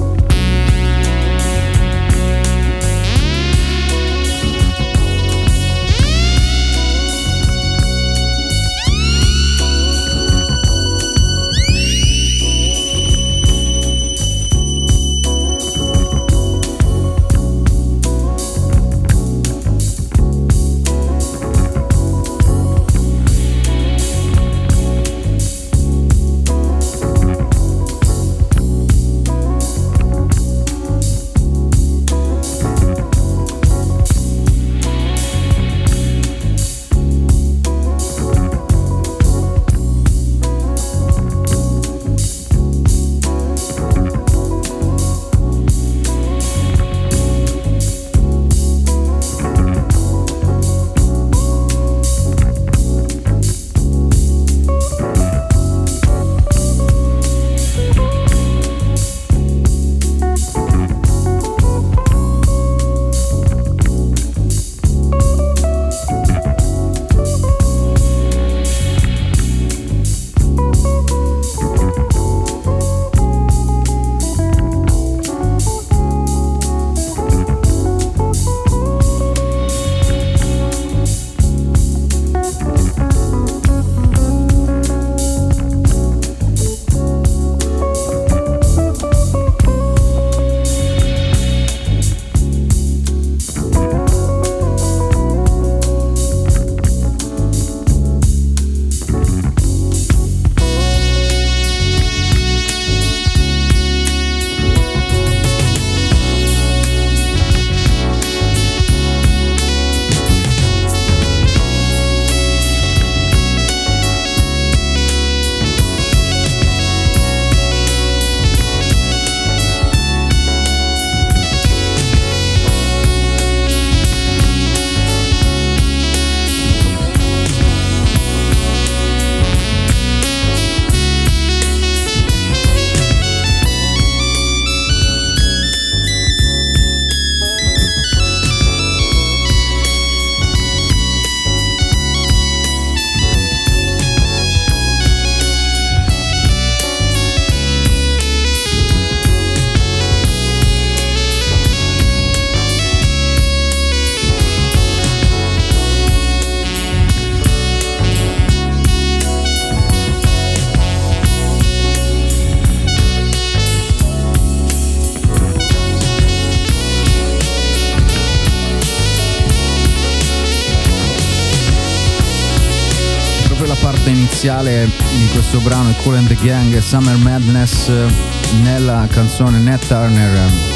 Iniziale di questo brano è Kool and the Gang, Summer Madness, nella canzone Nat Turner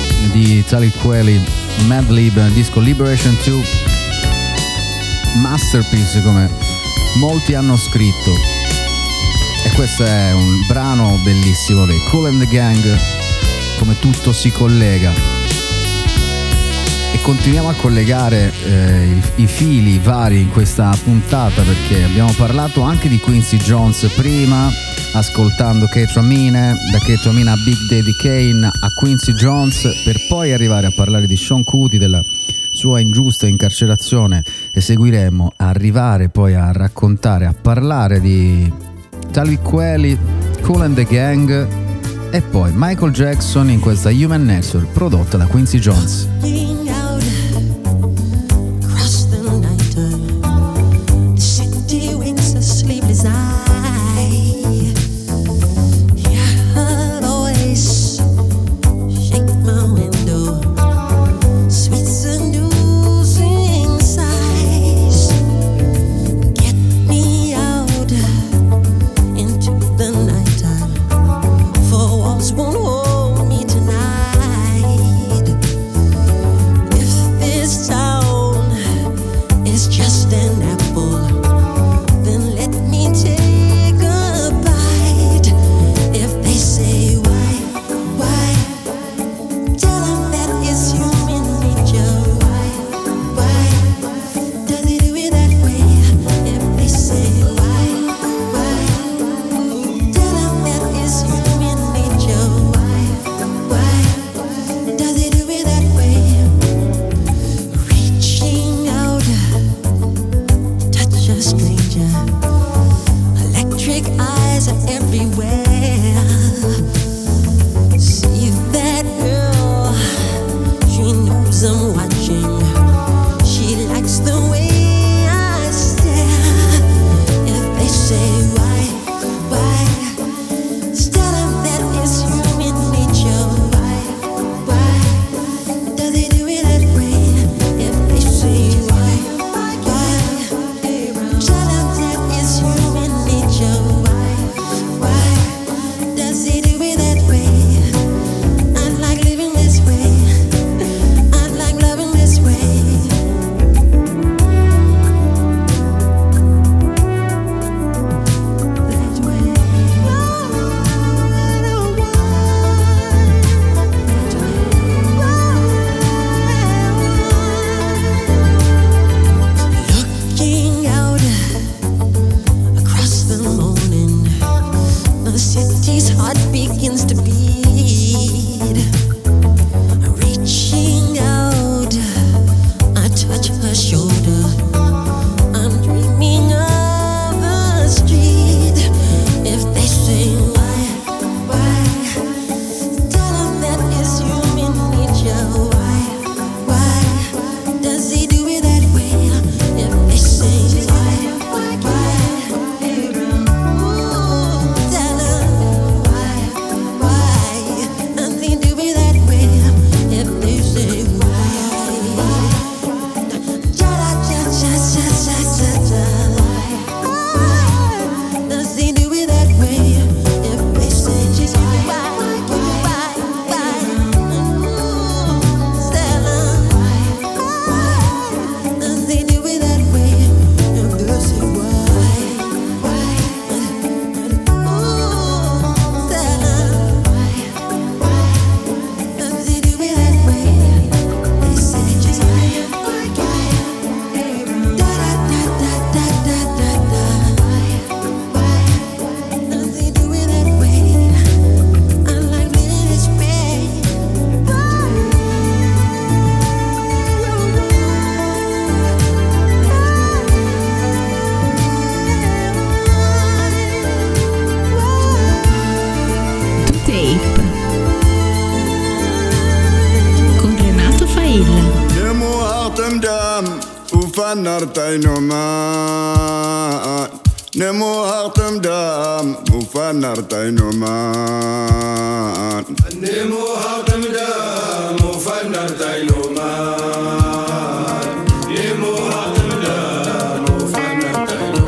di Talib Kweli, Madlib, disco Liberation 2, masterpiece come molti hanno scritto. E questo è un brano bellissimo dei Kool and the Gang, come tutto si collega. E continuiamo a collegare i fili vari in questa puntata, perché abbiamo parlato anche di Quincy Jones prima, ascoltando K-Tramine, da K-Tramine a Big Daddy Kane a Quincy Jones, per poi arrivare a parlare di Sean Kuti, della sua ingiusta incarcerazione, e seguiremo a arrivare poi a raccontare, a parlare di Talib Kweli, Kool and the Gang e poi Michael Jackson in questa Human Nature prodotta da Quincy Jones. Sleepless eye, nartai no man nemo hartam dam ufan nartai no man nemo hartam dam ufan nartai no man nemo hartam dam ufan nartai no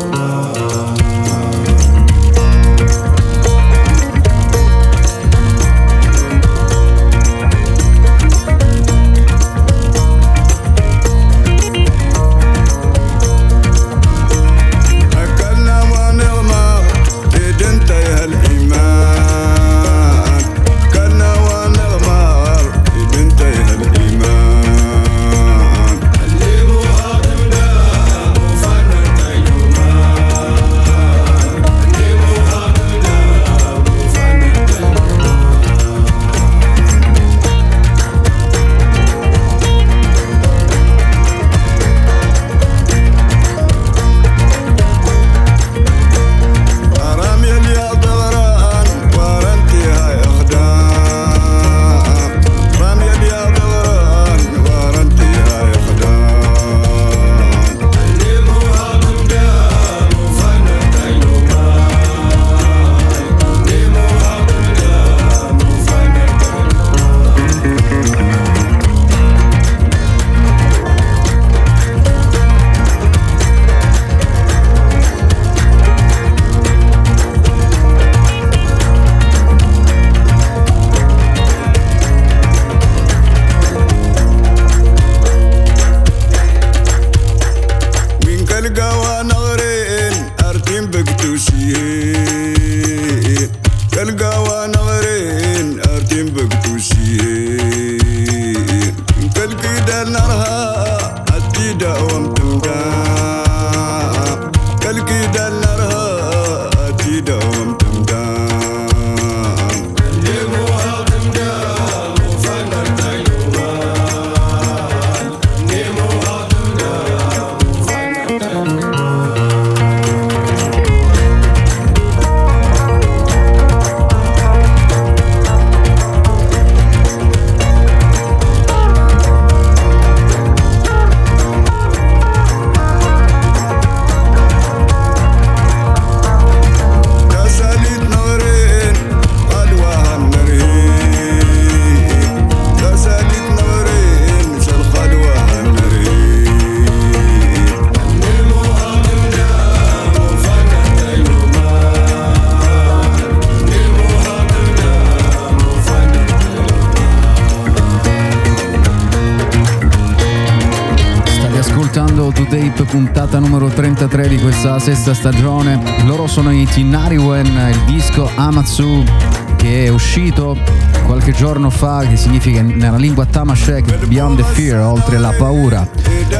Puntata numero 33 di questa sesta stagione. Loro sono i Tinariwen, il disco Amatsu che è uscito qualche giorno fa, che significa nella lingua Tamashek Beyond the Fear, oltre la paura.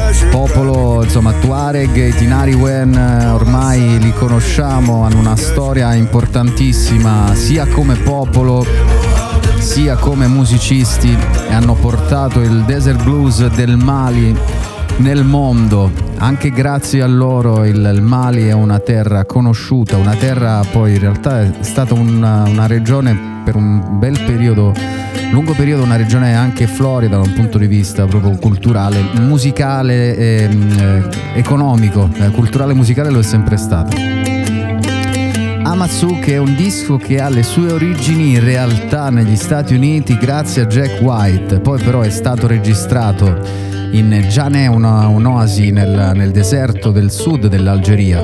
Popolo insomma Tuareg, i Tinariwen ormai li conosciamo, hanno una storia importantissima sia come popolo sia come musicisti e hanno portato il desert blues del Mali nel mondo. Anche grazie a loro il Mali è una terra conosciuta, una terra poi in realtà è stata una regione per un bel periodo, lungo periodo, una regione anche florida da un punto di vista proprio culturale, musicale e economico, culturale e musicale lo è sempre stato. Amatsu, che è un disco che ha le sue origini in realtà negli Stati Uniti grazie a Jack White, poi però è stato registrato in Djaneh, un'oasi nel deserto del sud dell'Algeria.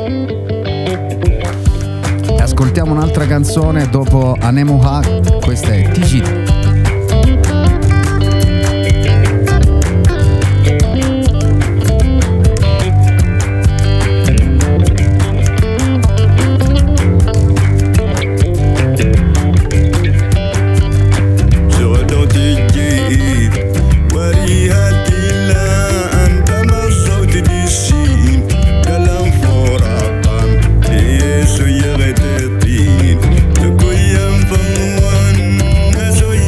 Ascoltiamo un'altra canzone dopo Anemuha, questa è Tijit. So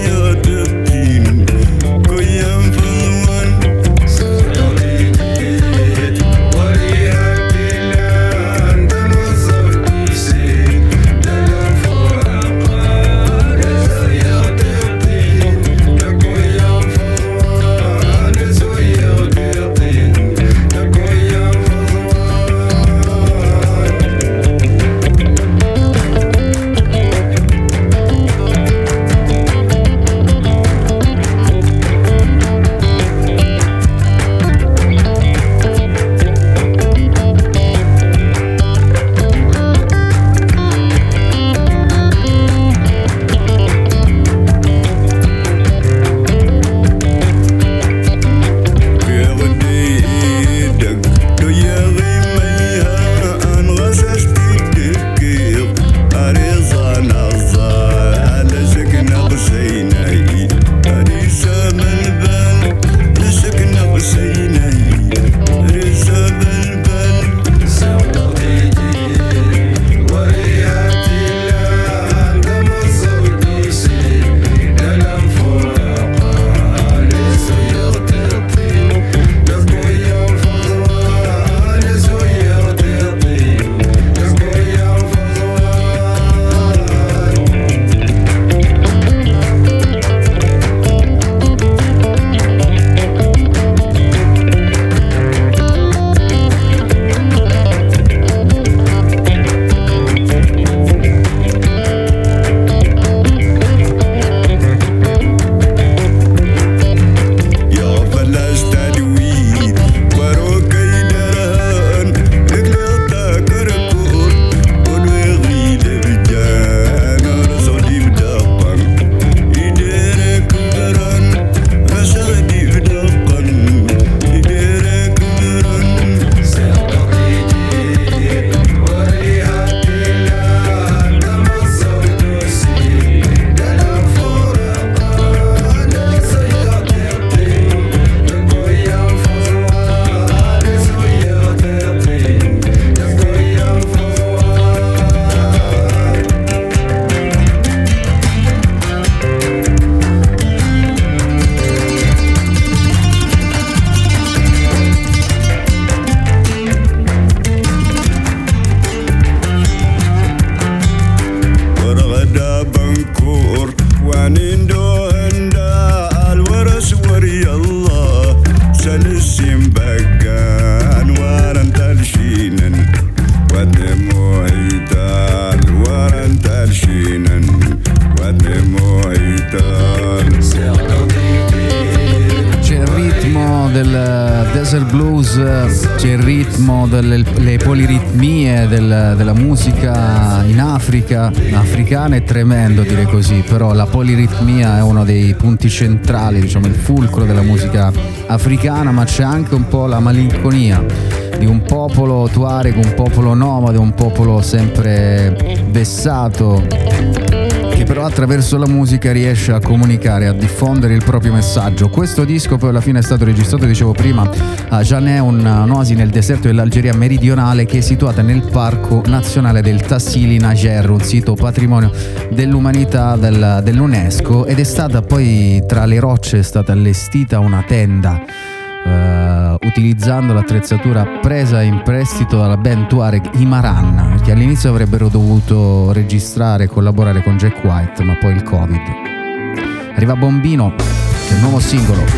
desert blues, c'è il ritmo, le poliritmie della musica in Africa, africana è tremendo dire così, però la poliritmia è uno dei punti centrali, diciamo il fulcro della musica africana, ma c'è anche un po' la malinconia di un popolo tuareg, un popolo nomade, un popolo sempre vessato, che però attraverso la musica riesce a comunicare, a diffondere il proprio messaggio. Questo disco poi alla fine è stato registrato, dicevo prima, a Jané, un'oasi nel deserto dell'Algeria meridionale che è situata nel Parco Nazionale del Tassili Najer, un sito patrimonio dell'umanità dell'UNESCO, ed è stata poi tra le rocce è stata allestita una tenda utilizzando l'attrezzatura presa in prestito dalla band Tuareg Imaran, che all'inizio avrebbero dovuto registrare e collaborare con Jack White, ma poi il Covid. Arriva Bombino, che è il nuovo singolo.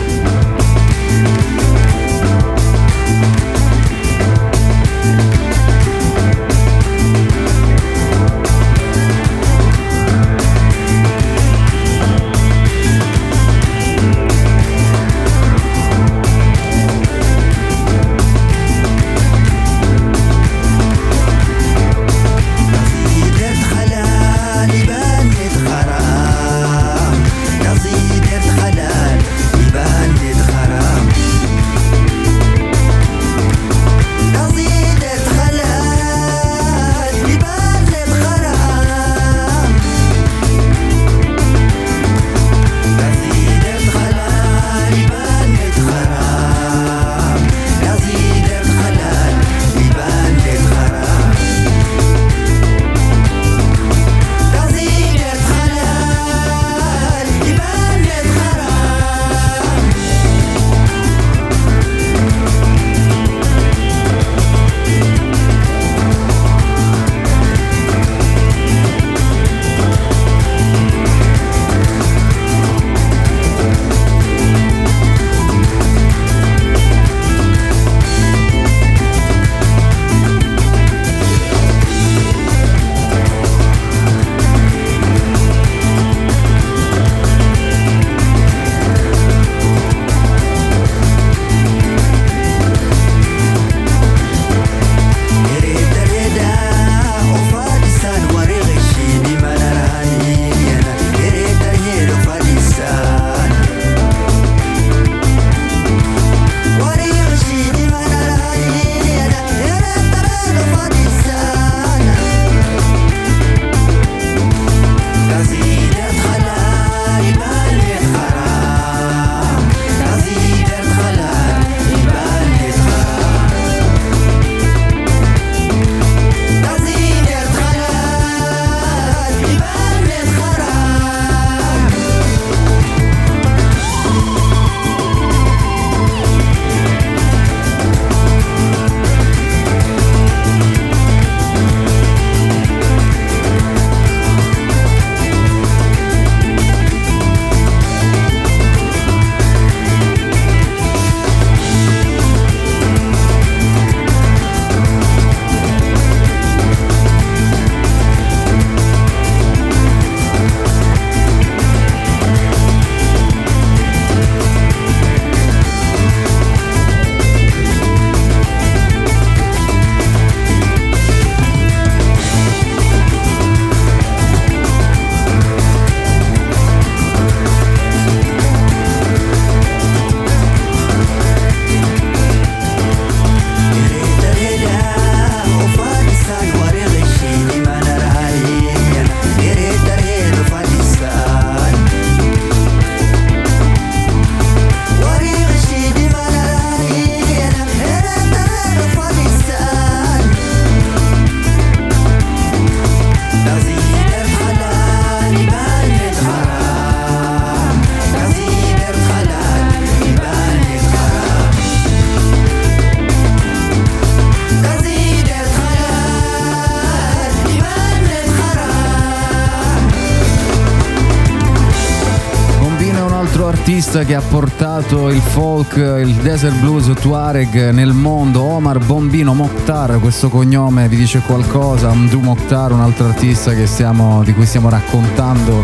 artista che ha portato il folk, il desert blues tuareg nel mondo, Omar Bombino Mokhtar, questo cognome vi dice qualcosa? Mdou Mokhtar, un altro artista di cui stiamo raccontando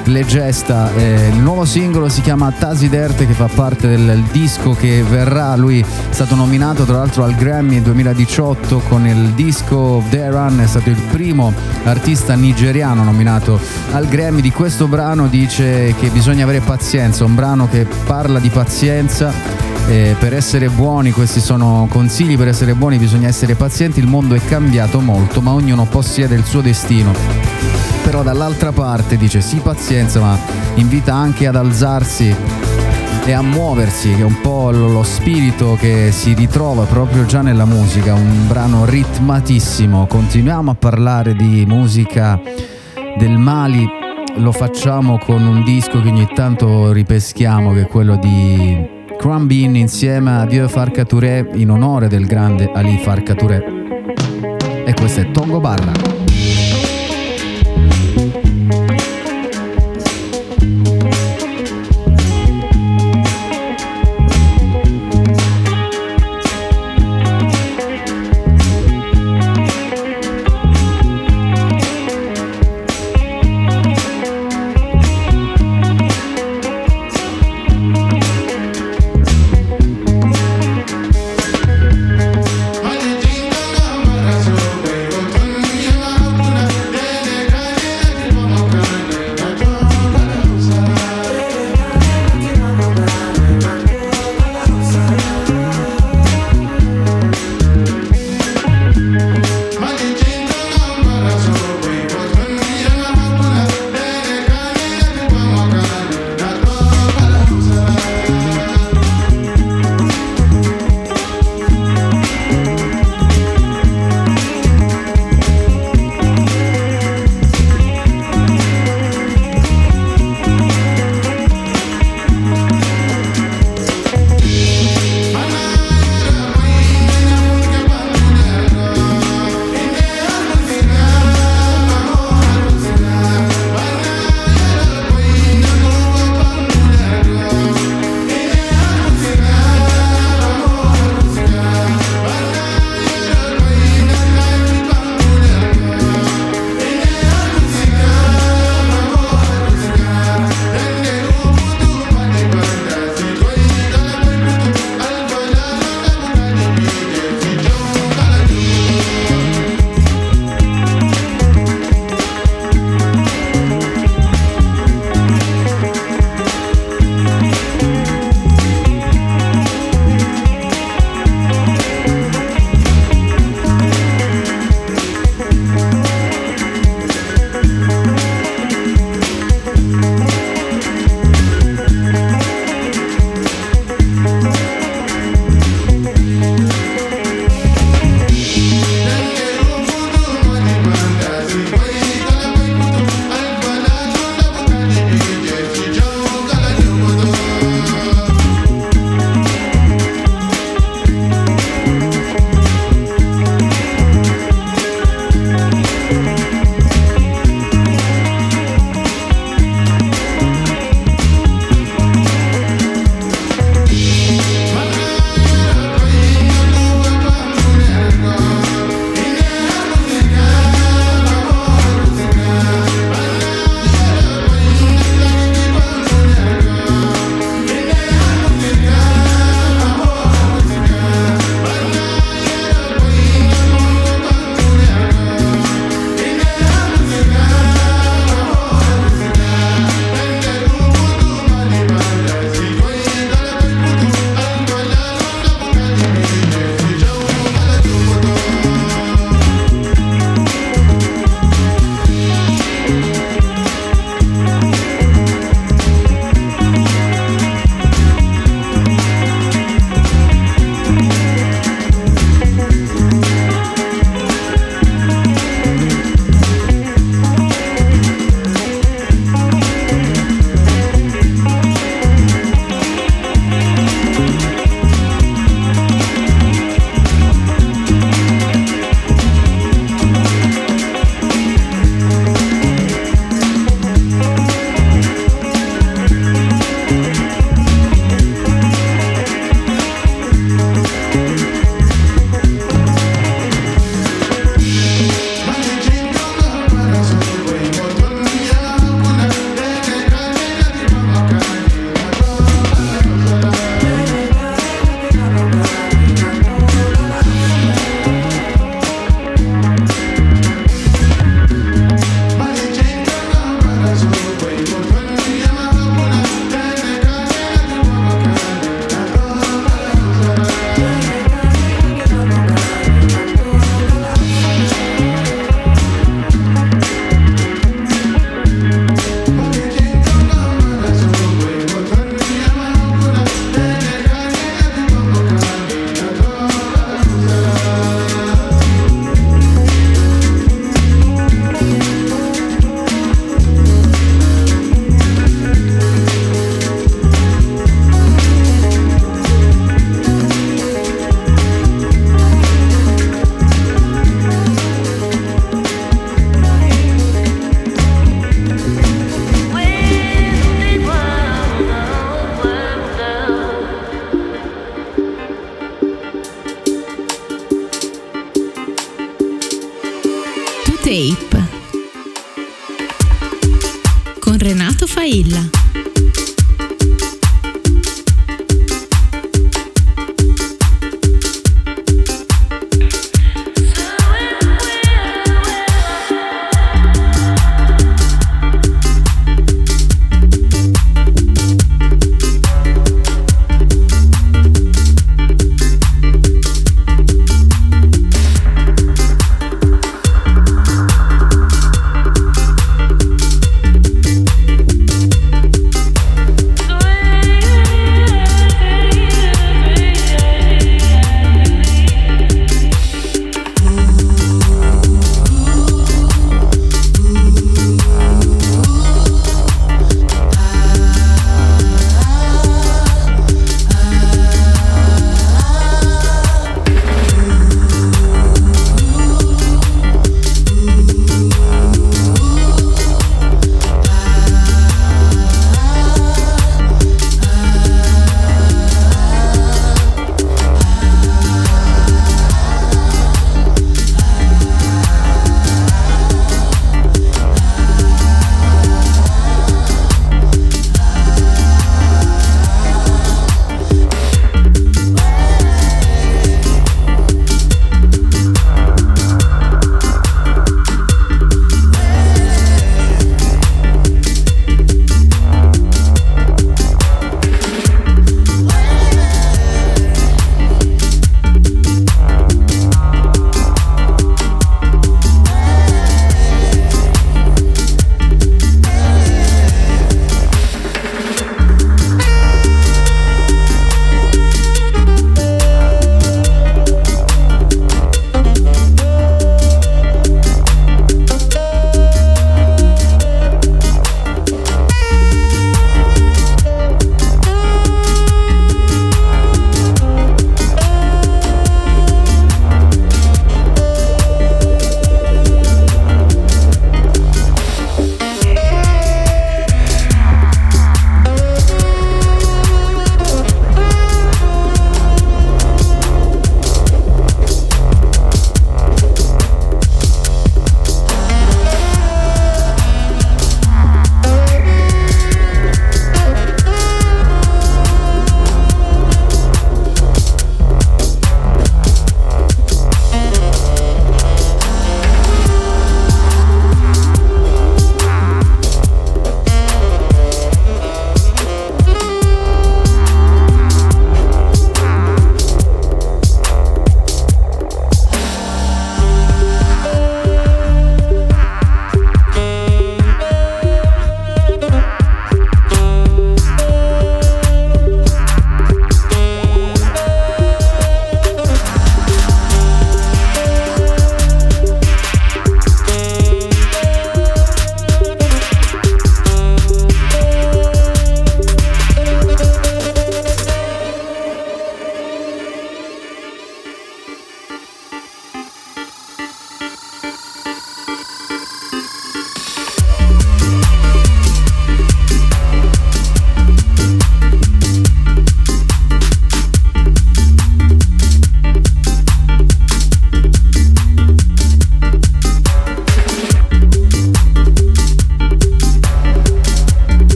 le gesta. Il nuovo singolo si chiama Tasiderte, che fa parte del disco che verrà. Lui è stato nominato tra l'altro al Grammy 2018 con il disco The Run, è stato il primo artista nigeriano nominato al Grammy. Di questo brano dice che bisogna avere pazienza, un brano che parla di pazienza. Per essere buoni, questi sono consigli, per essere buoni bisogna essere pazienti, il mondo è cambiato molto ma ognuno possiede il suo destino. Però dall'altra parte dice sì pazienza, ma invita anche ad alzarsi e a muoversi, che è un po' lo spirito che si ritrova proprio già nella musica, un brano ritmatissimo. Continuiamo a parlare di musica del Mali, lo facciamo con un disco che ogni tanto ripeschiamo, che è quello di Crumbin insieme a Dieu Farka Touré, in onore del grande Ali Farka Touré, e questo è Tongo Balla. Thank you.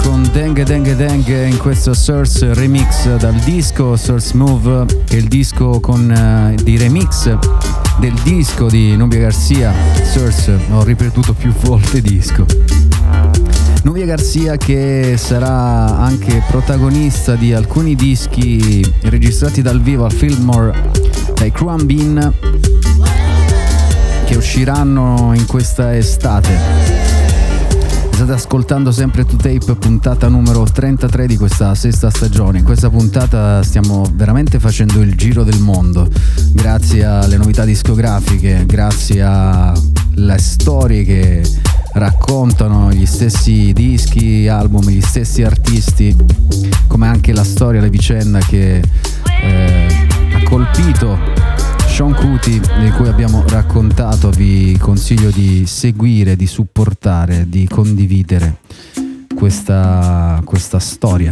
con Dengue Dengue Dengue in questo Source remix dal disco Source Move, che è il disco con di remix del disco di Nubia Garcia. Source, ho ripetuto più volte disco. Nubia Garcia che sarà anche protagonista di alcuni dischi registrati dal vivo al Fillmore dai Cruan Bean, che usciranno in questa estate. State ascoltando sempre 2Tape, puntata numero 33 di questa sesta stagione. In questa puntata stiamo veramente facendo il giro del mondo, grazie alle novità discografiche, grazie alle storie che raccontano gli stessi dischi, album, gli stessi artisti, come anche la storia, la vicenda che ha colpito Sean Kuti, di cui abbiamo raccontato. Vi consiglio di seguire, di supportare, di condividere questa storia.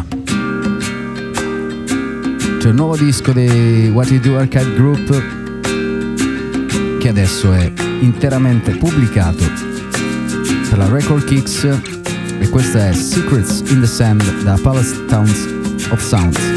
C'è il nuovo disco dei What You Do Arcade Group, che adesso è interamente pubblicato per la Record Kicks, e questa è Secrets in the Sand da Palace Towns of Sounds.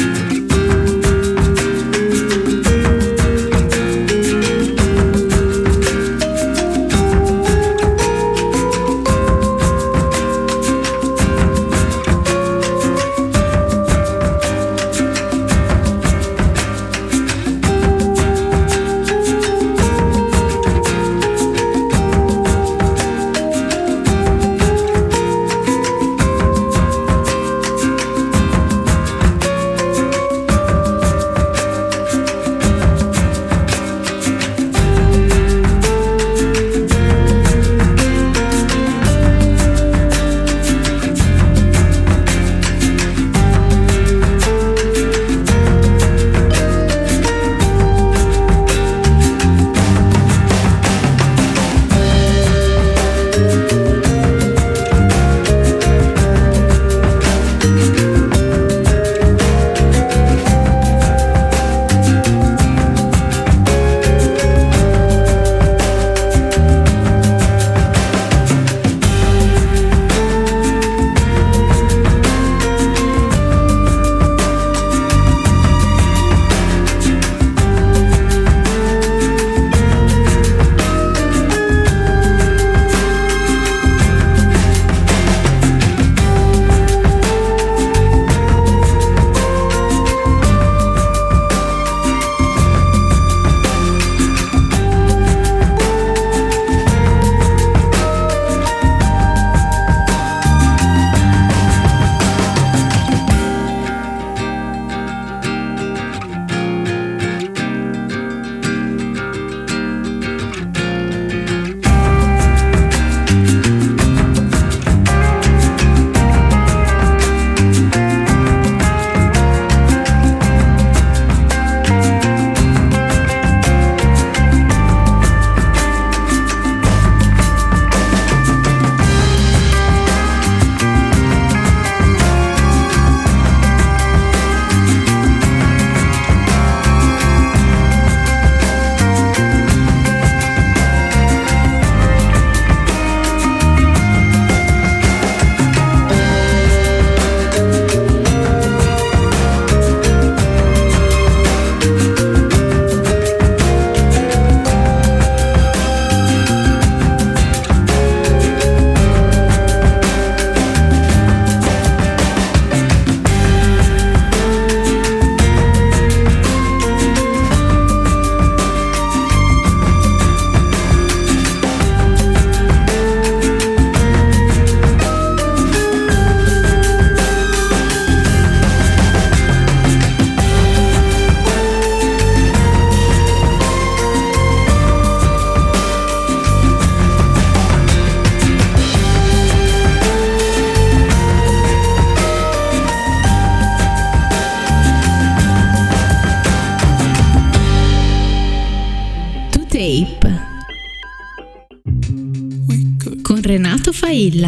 Renato Failla.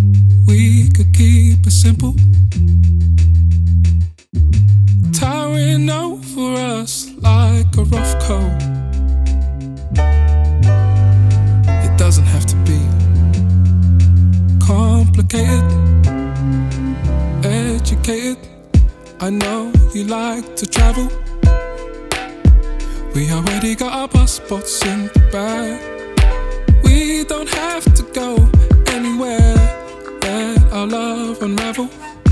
We could keep it simple. Towering over us like a rough coat. It doesn't have to be complicated. educated. I know you like to travel. We already got our passports in the bag. We don't have to go anywhere. Let our love unravel.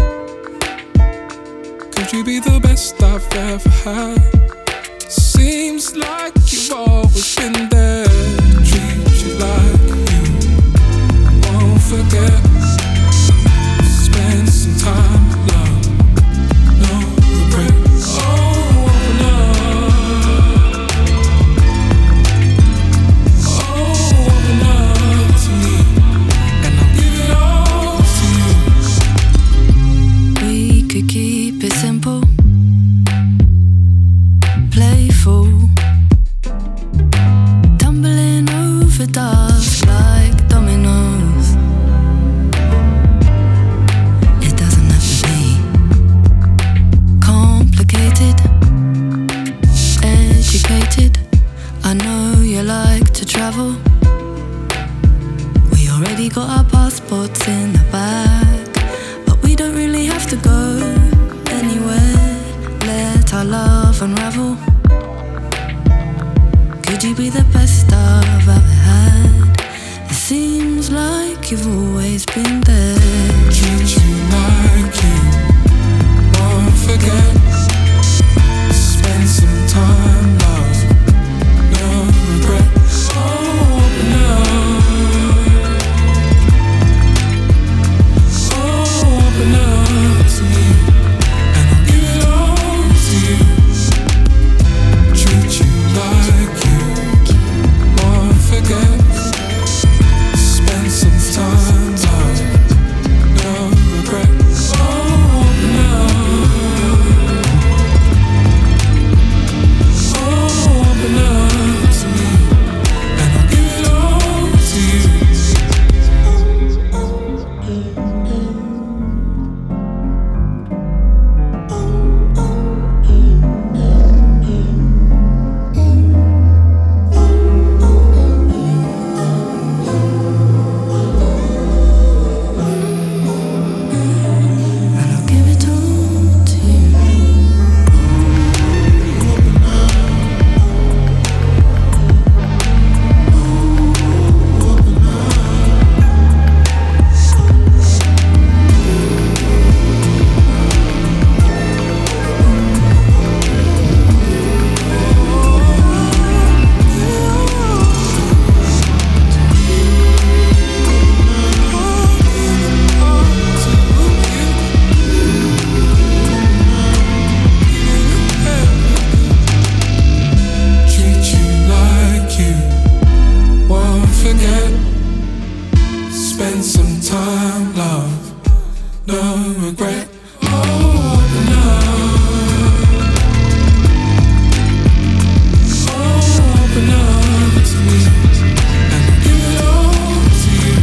Could you be the best I've ever had? Seems like you've always been there. Treat you like you won't forget. Spend some time with love, no regret. Oh, open up. Oh, open up to me, and I'll give it all to you. We could keep it simple, playful, tumbling over dust like dominoes. It doesn't have to be complicated, educated. I know you like to travel. We already got our passports in the bag, but we don't really have to go anywhere. Let our love unravel. Could you be the best I've ever had? It seems like you've always been there. Treat you like you won't forget. Spend some time, love, no regret. Oh, open up. Oh, open up to me, and I'll give it all to you. Treat you like you won't forget. Spend some time, love, no regret. Oh, open up. Oh, open up to me, and I'll give it all to you. And I'll give it all to you. Treat you like you won't forget. Spend some time, love, no regret. Oh, open up. Oh, open up to me, and I'll give it all to you.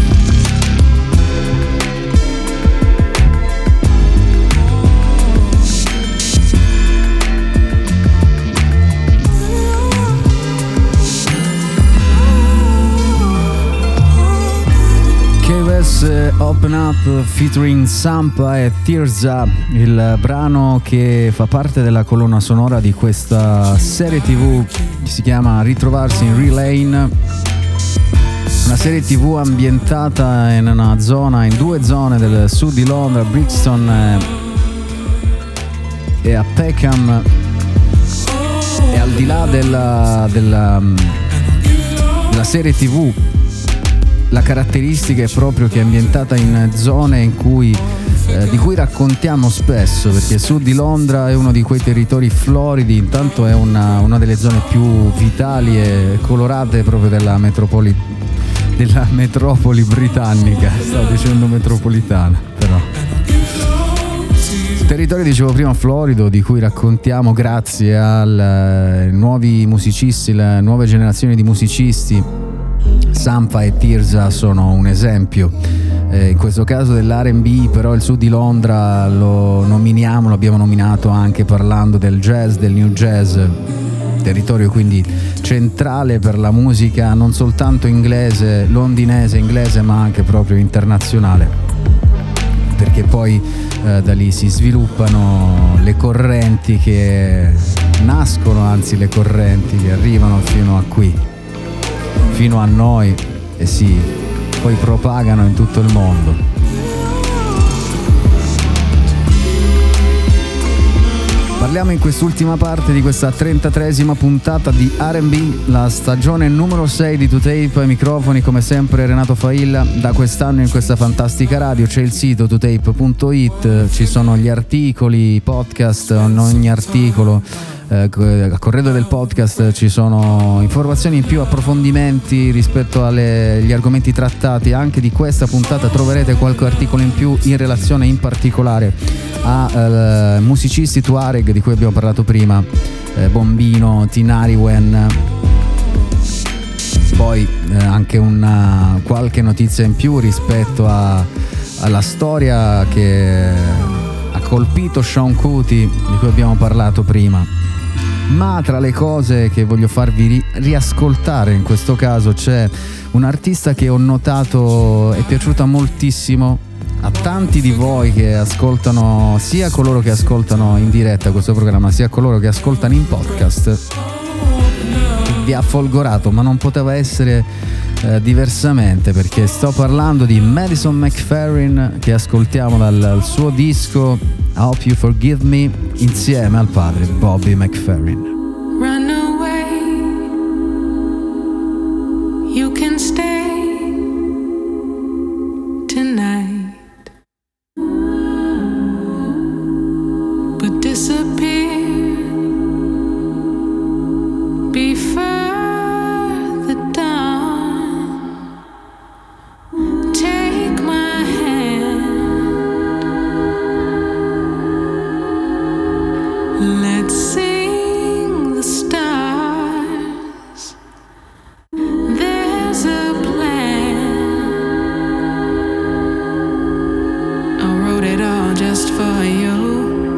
KOS Open Up featuring Sampa e Tirza, il brano che fa parte della colonna sonora di questa serie TV che si chiama Ritrovarsi in Relane, una serie TV ambientata in due zone del sud di Londra, Brixton e a Peckham, e al di là della serie TV, la caratteristica è proprio che è ambientata in zone in cui di cui raccontiamo spesso, perché sud di Londra è uno di quei territori floridi, intanto è una delle zone più vitali e colorate proprio della metropoli britannica. Stavo dicendo metropolitana, però territorio, dicevo prima, florido, di cui raccontiamo grazie ai nuovi musicisti, le nuove generazioni di musicisti. Sampa e Tirza sono un esempio, in questo caso dell'R&B, però il sud di Londra l'abbiamo nominato anche parlando del jazz, del new jazz, territorio quindi centrale per la musica non soltanto inglese, londinese, inglese, ma anche proprio internazionale. perché poi da lì si sviluppano le correnti che nascono, anzi le correnti che arrivano fino a qui, fino a noi e si poi propagano in tutto il mondo. Parliamo in quest'ultima parte di questa 33esima puntata di R&B, la stagione numero 6 di 2Tape. Ai microfoni come sempre Renato Failla. Da quest'anno in questa fantastica radio c'è il sito 2tape.it, ci sono gli articoli, podcast, in ogni articolo a corredo del podcast ci sono informazioni in più, approfondimenti rispetto agli argomenti trattati. Anche di questa puntata troverete qualche articolo in più in relazione in particolare a musicisti Tuareg di cui abbiamo parlato prima, Bombino, Tinariwen. Poi anche qualche notizia in più rispetto alla storia che ha colpito Sean Kuti di cui abbiamo parlato prima. Ma tra le cose che voglio farvi riascoltare in questo caso c'è un artista che ho notato è piaciuta moltissimo a tanti di voi che ascoltano, sia coloro che ascoltano in diretta questo programma sia coloro che ascoltano in podcast. Vi ha folgorato, ma non poteva essere diversamente, perché sto parlando di Madison McFerrin, che ascoltiamo dal suo disco I Hope You Forgive Me insieme al padre Bobby McFerrin. Run away, you can stay tonight, but disappear before the dawn. Take my hand, let's sing the stars. There's a plan, I wrote it all just for you.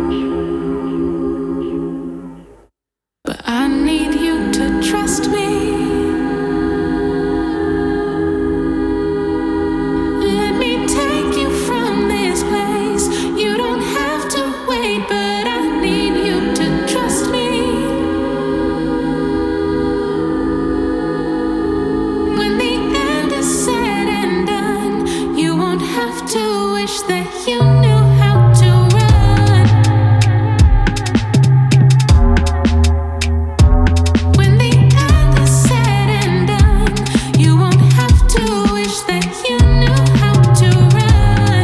But I need you to trust me. Let me take you from this place. You don't have to wait, but I need you to trust me. When the end is said and done, you won't have to wish that you knew how to run. When the end is said and done, you won't have to wish that you knew how to run.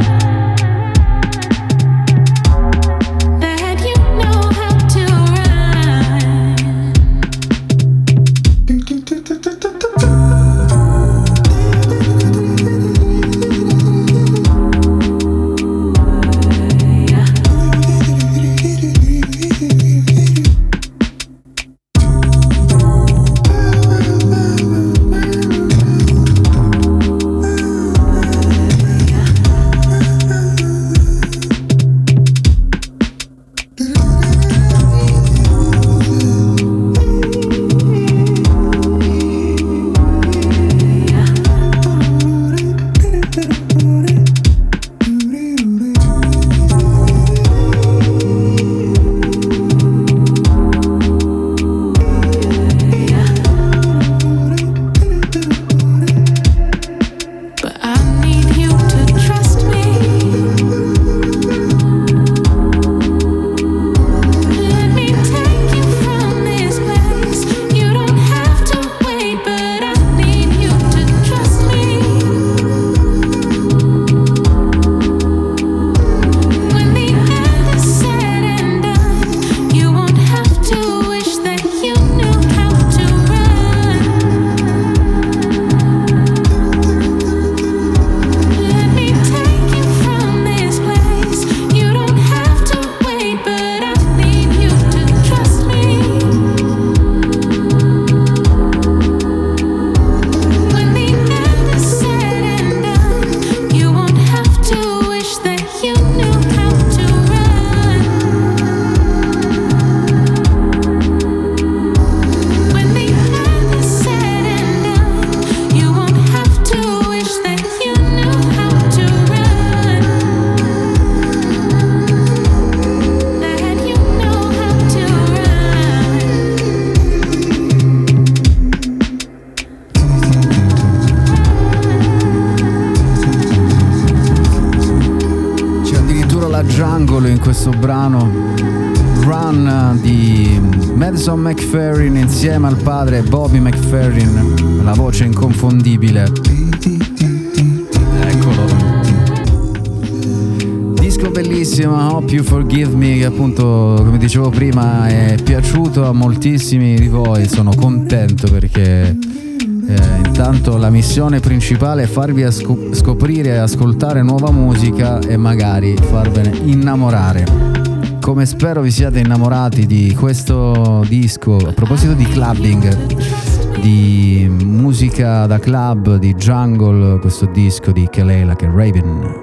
That you know how to run. Jungle in questo brano Run di Madison McFerrin insieme al padre Bobby McFerrin, la voce inconfondibile. Eccolo. Disco bellissimo, Hope You Forgive Me, che appunto, come dicevo prima, è piaciuto a moltissimi di voi. Sono contento perché intanto la missione principale è farvi scoprire e ascoltare nuova musica e magari farvene innamorare, come spero vi siate innamorati di questo disco. A proposito di clubbing, di musica da club, di jungle, questo disco di Kelela che è Raven.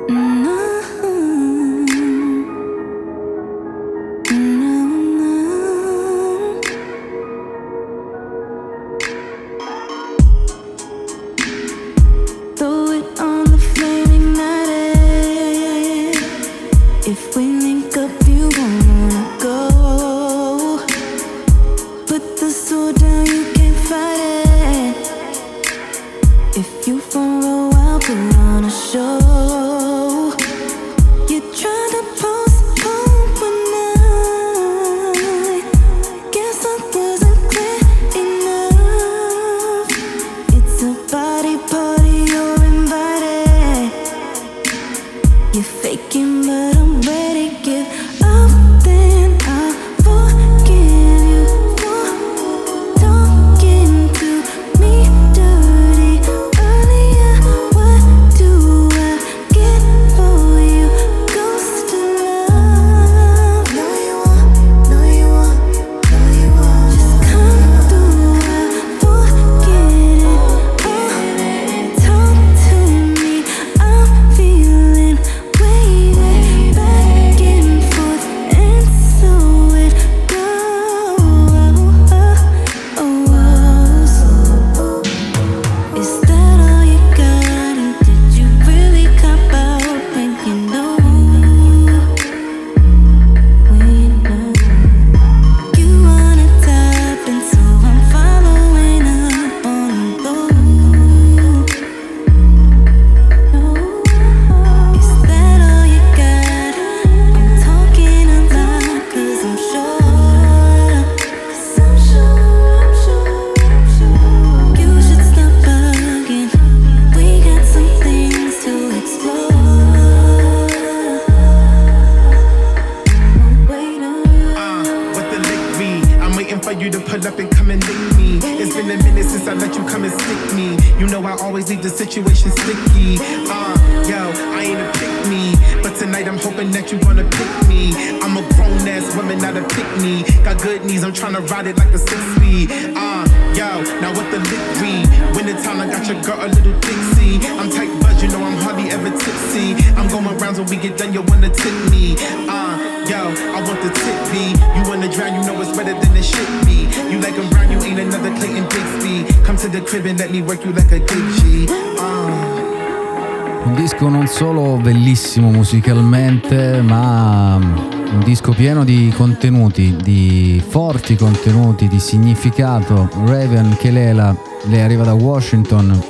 Un disco non solo bellissimo musicalmente, ma un disco pieno di contenuti, di forti contenuti, di significato. Raven Kelela, lei arriva da Washington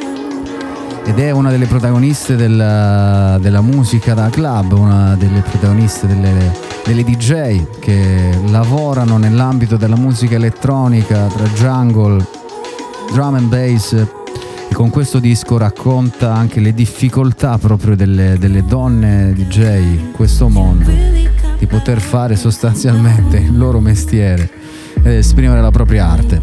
ed è una delle protagoniste della musica da club, una delle protagoniste delle DJ che lavorano nell'ambito della musica elettronica, tra jungle, drum and bass, e con questo disco racconta anche le difficoltà proprio delle donne DJ in questo mondo, di poter fare sostanzialmente il loro mestiere ed esprimere la propria arte.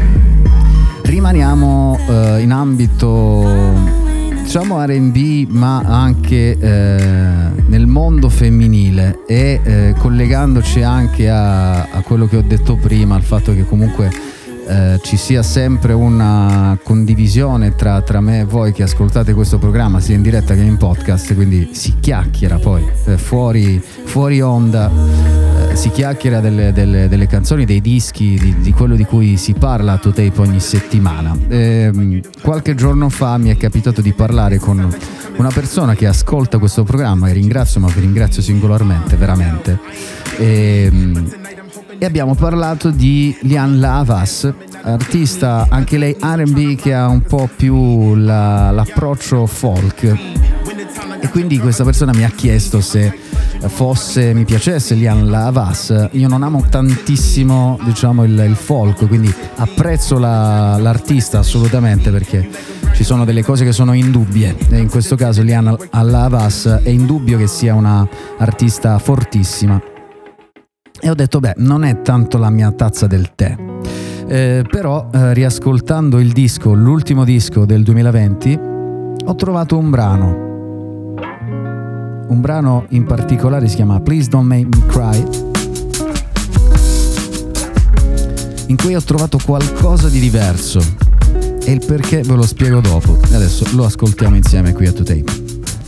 Rimaniamo in ambito diciamo R&B, ma anche nel mondo femminile e collegandoci anche a quello che ho detto prima, al fatto che comunque ci sia sempre una condivisione tra me e voi che ascoltate questo programma sia in diretta che in podcast, quindi si chiacchiera poi fuori onda, si chiacchiera delle canzoni, dei dischi, di quello di cui si parla a To Tape ogni settimana. Qualche giorno fa mi è capitato di parlare con una persona che ascolta questo programma e ringrazio, ma vi ringrazio singolarmente, veramente, e abbiamo parlato di Lianne La Havas, artista anche lei R&B che ha un po' più l'approccio folk, e quindi questa persona mi ha chiesto se mi piacesse Lian La Havas. Io non amo tantissimo, diciamo, il folk, quindi apprezzo l'artista assolutamente, perché ci sono delle cose che sono indubbie, e in questo caso Lian La Havas è indubbio che sia una artista fortissima, e ho detto beh, non è tanto la mia tazza del tè. Però riascoltando il disco, l'ultimo disco del 2020, ho trovato un brano in particolare, si chiama Please Don't Make Me Cry, in cui ho trovato qualcosa di diverso, e il perché ve lo spiego dopo. Adesso lo ascoltiamo insieme qui a 2Tape.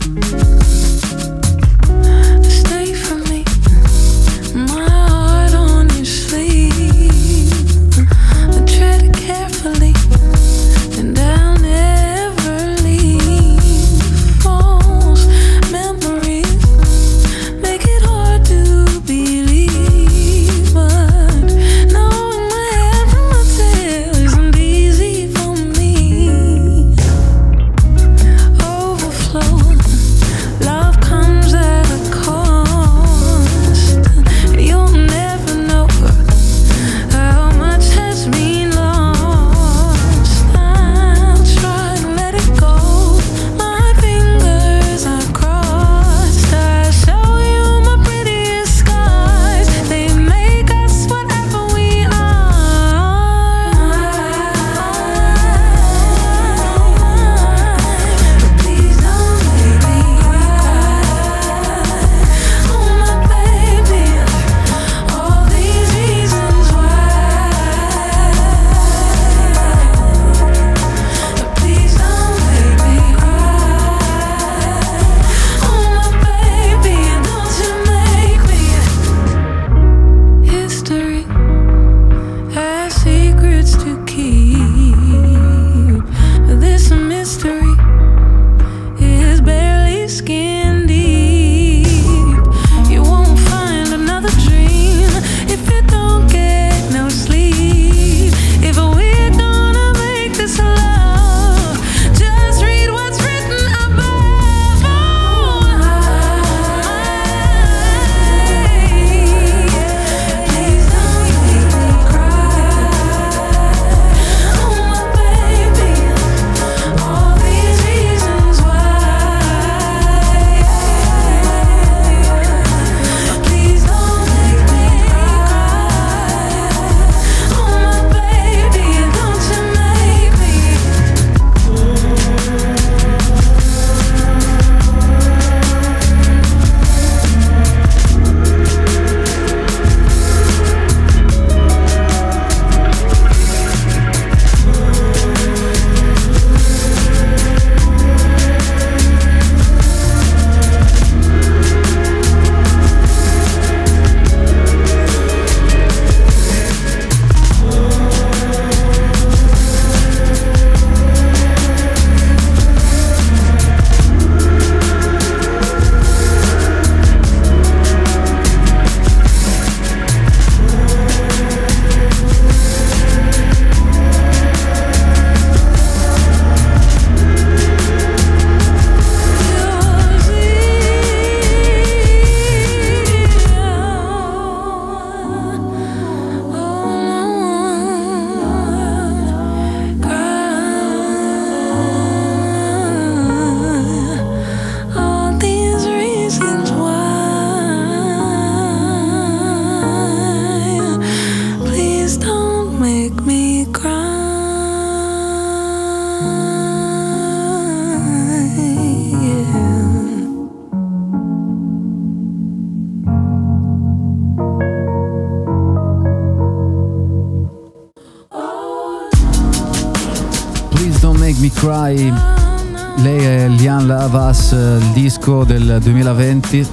Me Cry, lei è Lian La Havas, il disco del 2020.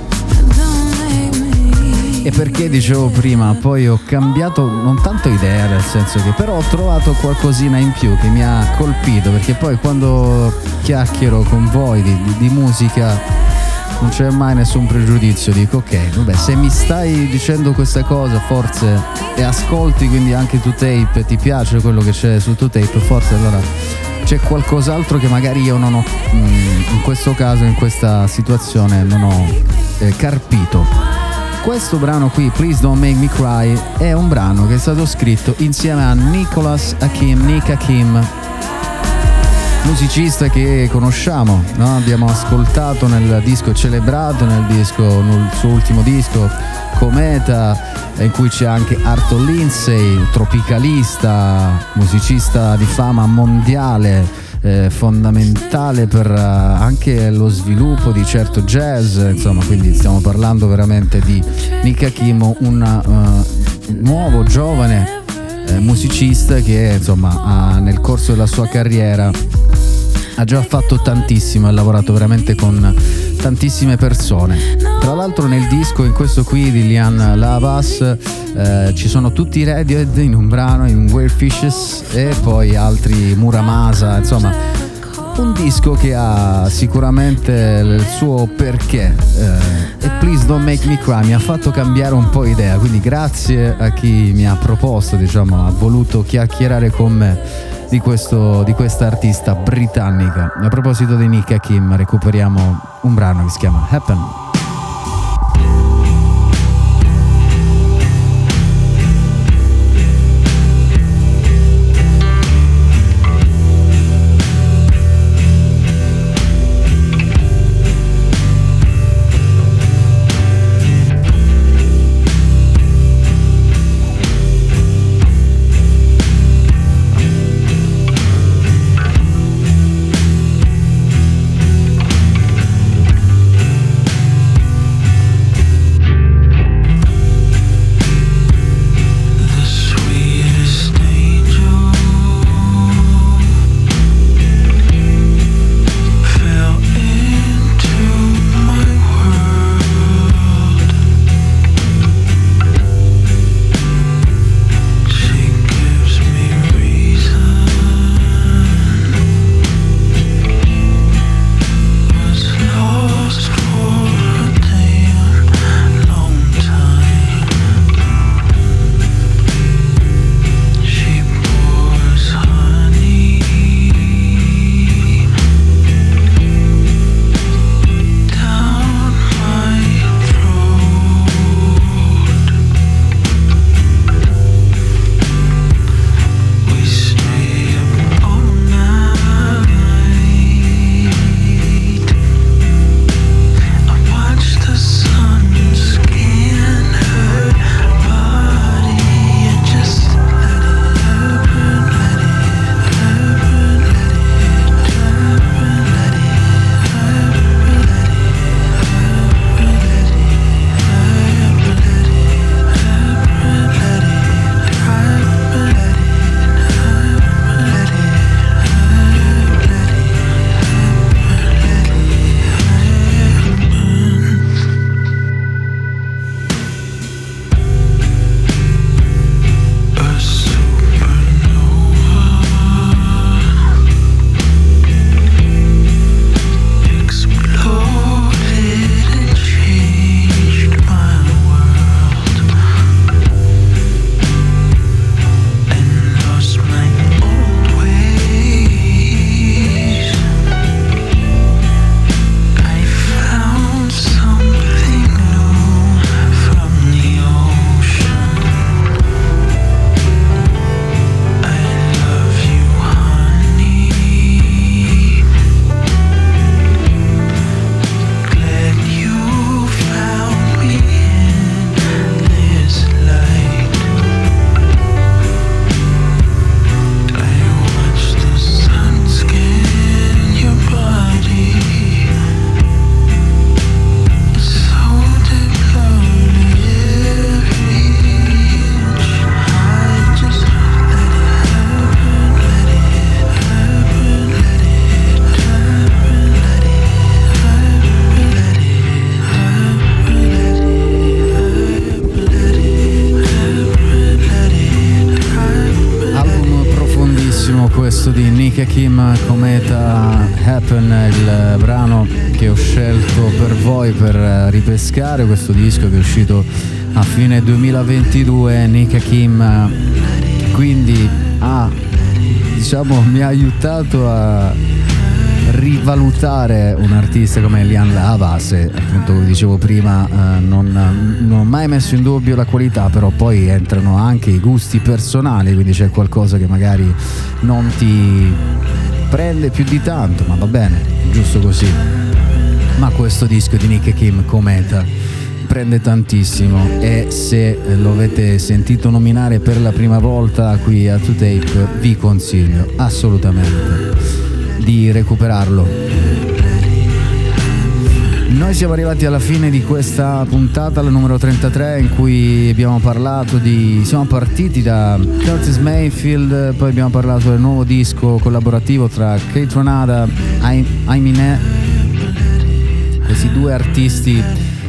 E perché dicevo prima, poi ho cambiato non tanto idea, nel senso che però ho trovato qualcosina in più che mi ha colpito, perché poi quando chiacchiero con voi di musica non c'è mai nessun pregiudizio, dico ok, vabbè, se mi stai dicendo questa cosa forse e ascolti quindi anche 2Tape, ti piace quello che c'è su 2Tape, forse allora c'è qualcos'altro che magari io non ho, in questo caso, in questa situazione non ho Carpito. Questo brano qui, Please Don't Make Me Cry, è un brano che è stato scritto insieme a Nick Hakim, musicista che conosciamo, no? Abbiamo ascoltato nel disco celebrato, nel suo ultimo disco Cometa, in cui c'è anche Arthur Lindsay, tropicalista, musicista di fama mondiale, fondamentale per anche lo sviluppo di certo jazz, insomma, quindi stiamo parlando veramente di Nick Hakim, un nuovo giovane musicista che insomma nel corso della sua carriera ha già fatto tantissimo, ha lavorato veramente con tantissime persone. Tra l'altro nel disco, in questo qui di Lian Lavas, ci sono tutti i Radiohead in un brano, in Where Fishes, e poi altri Muramasa, insomma un disco che ha sicuramente il suo perché, e Please Don't Make Me Cry mi ha fatto cambiare un po' idea, quindi grazie a chi mi ha proposto, diciamo, ha voluto chiacchierare con me di questa artista britannica. A proposito di Nick Hakim, recuperiamo un brano che si chiama Happen. Questo di Nick Hakim, Cometa, Happen, il brano che ho scelto per voi per ripescare questo disco che è uscito a fine 2022. Nick Hakim quindi mi ha aiutato a rivalutare un artista come Lian Lava, se appunto come dicevo prima non ho mai messo in dubbio la qualità, però poi entrano anche i gusti personali, quindi c'è qualcosa che magari non ti prende più di tanto, ma va bene, giusto così. Ma questo disco di Nick Hakim, Cometa, prende tantissimo, e se lo avete sentito nominare per la prima volta qui a 2Tape vi consiglio assolutamente di recuperarlo. Noi siamo arrivati alla fine di questa puntata, la numero 33, in cui abbiamo parlato siamo partiti da Curtis Mayfield, poi abbiamo parlato del nuovo disco collaborativo tra Kate Ranada e Aminé, questi due artisti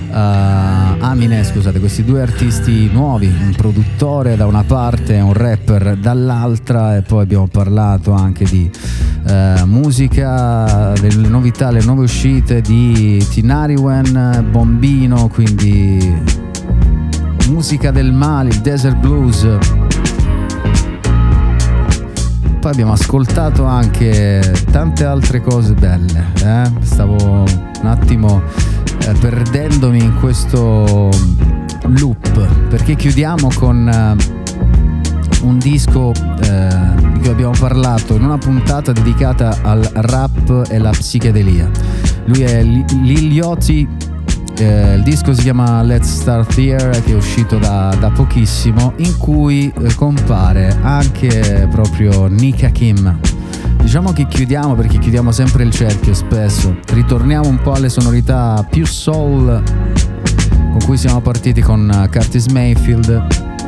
questi due artisti nuovi, un produttore da una parte e un rapper dall'altra, e poi abbiamo parlato anche di musica, delle novità, le nuove uscite di Tinariwen, Bombino, quindi musica del Mali, il Desert Blues. Poi abbiamo ascoltato anche tante altre cose belle, stavo un attimo perdendomi in questo loop, perché chiudiamo con un disco di cui abbiamo parlato in una puntata dedicata al rap e alla psichedelia. Lui è Lil Yachty, il disco si chiama Let's Start Here, che è uscito da pochissimo, in cui compare anche proprio Nick Hakim. Diciamo che chiudiamo, perché chiudiamo sempre il cerchio spesso, ritorniamo un po' alle sonorità più soul con cui siamo partiti con Curtis Mayfield.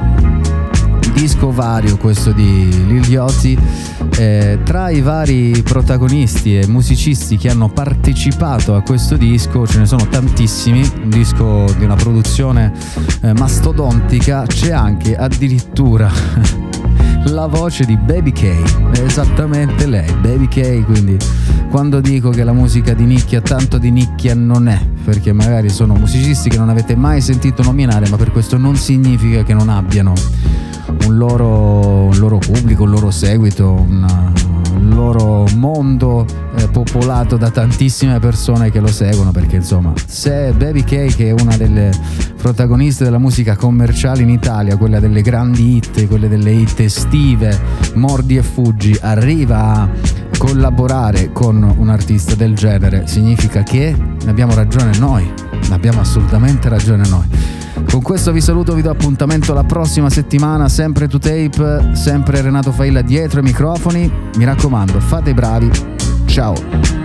Disco vario questo di Lil Yachty, tra i vari protagonisti e musicisti che hanno partecipato a questo disco ce ne sono tantissimi, un disco di una produzione mastodontica. C'è anche addirittura la voce di Baby K, è esattamente lei, Baby K, quindi quando dico che la musica di nicchia tanto di nicchia non è, perché magari sono musicisti che non avete mai sentito nominare, ma per questo non significa che non abbiano un loro pubblico, un loro seguito, un loro mondo popolato da tantissime persone che lo seguono, perché insomma, se Baby K, che è una delle protagoniste della musica commerciale in Italia, quella delle grandi hit, quelle delle hit estive, Mordi e Fuggi, arriva a collaborare con un artista del genere, significa che abbiamo ragione noi, abbiamo assolutamente ragione noi. Con questo vi saluto, vi do appuntamento la prossima settimana, sempre 2Tape, sempre Renato Failla dietro i microfoni. Mi raccomando, fate i bravi. Ciao.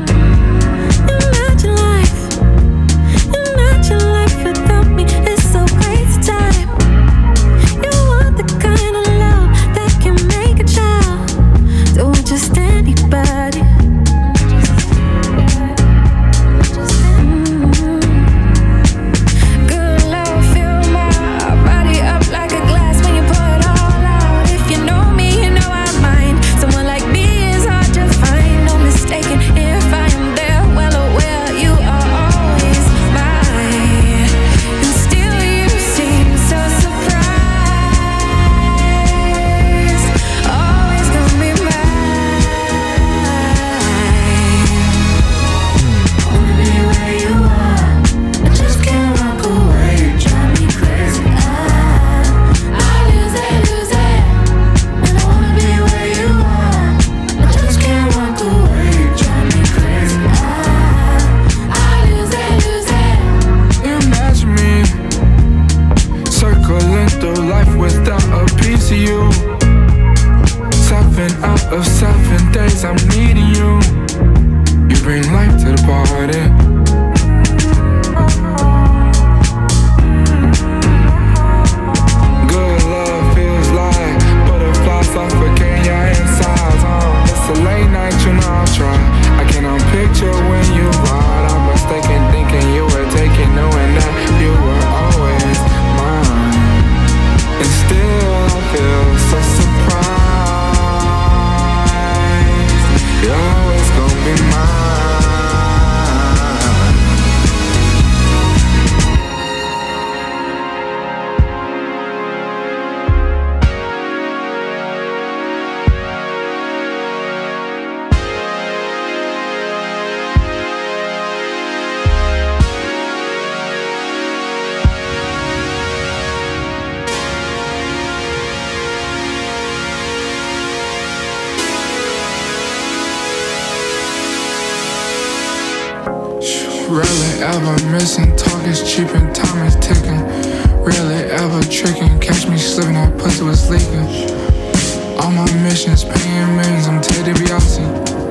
If Rarely ever missing, talk is cheap and time is ticking. Rarely ever tricking, catch me slipping, that pussy was leaking. All my missions, paying millions, I'm Ted DiBiase.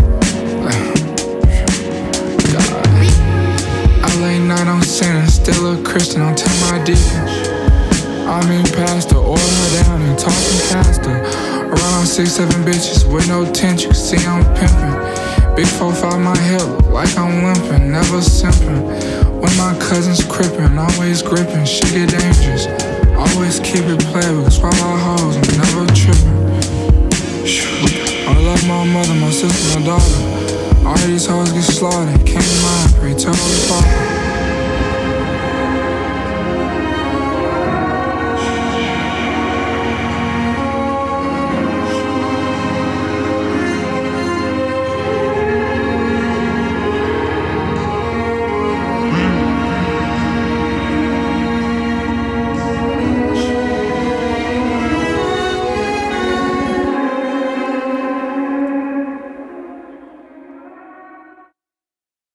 LA night, I'm sinning, still a Christian, don't tell my deacon. I mean pastor, oil her down and talking caster. Around 6-7 bitches with no tent, you can see I'm pimping. Big 4-5 my hip, look like I'm limping, never simping. When my cousins crippin', always gripping, shit get dangerous. Always keep it playable, swallow hoes, I'm never tripping. I love my mother, my sister, my daughter. All these hoes get slaughtered, can't mind, pray to Holy Father.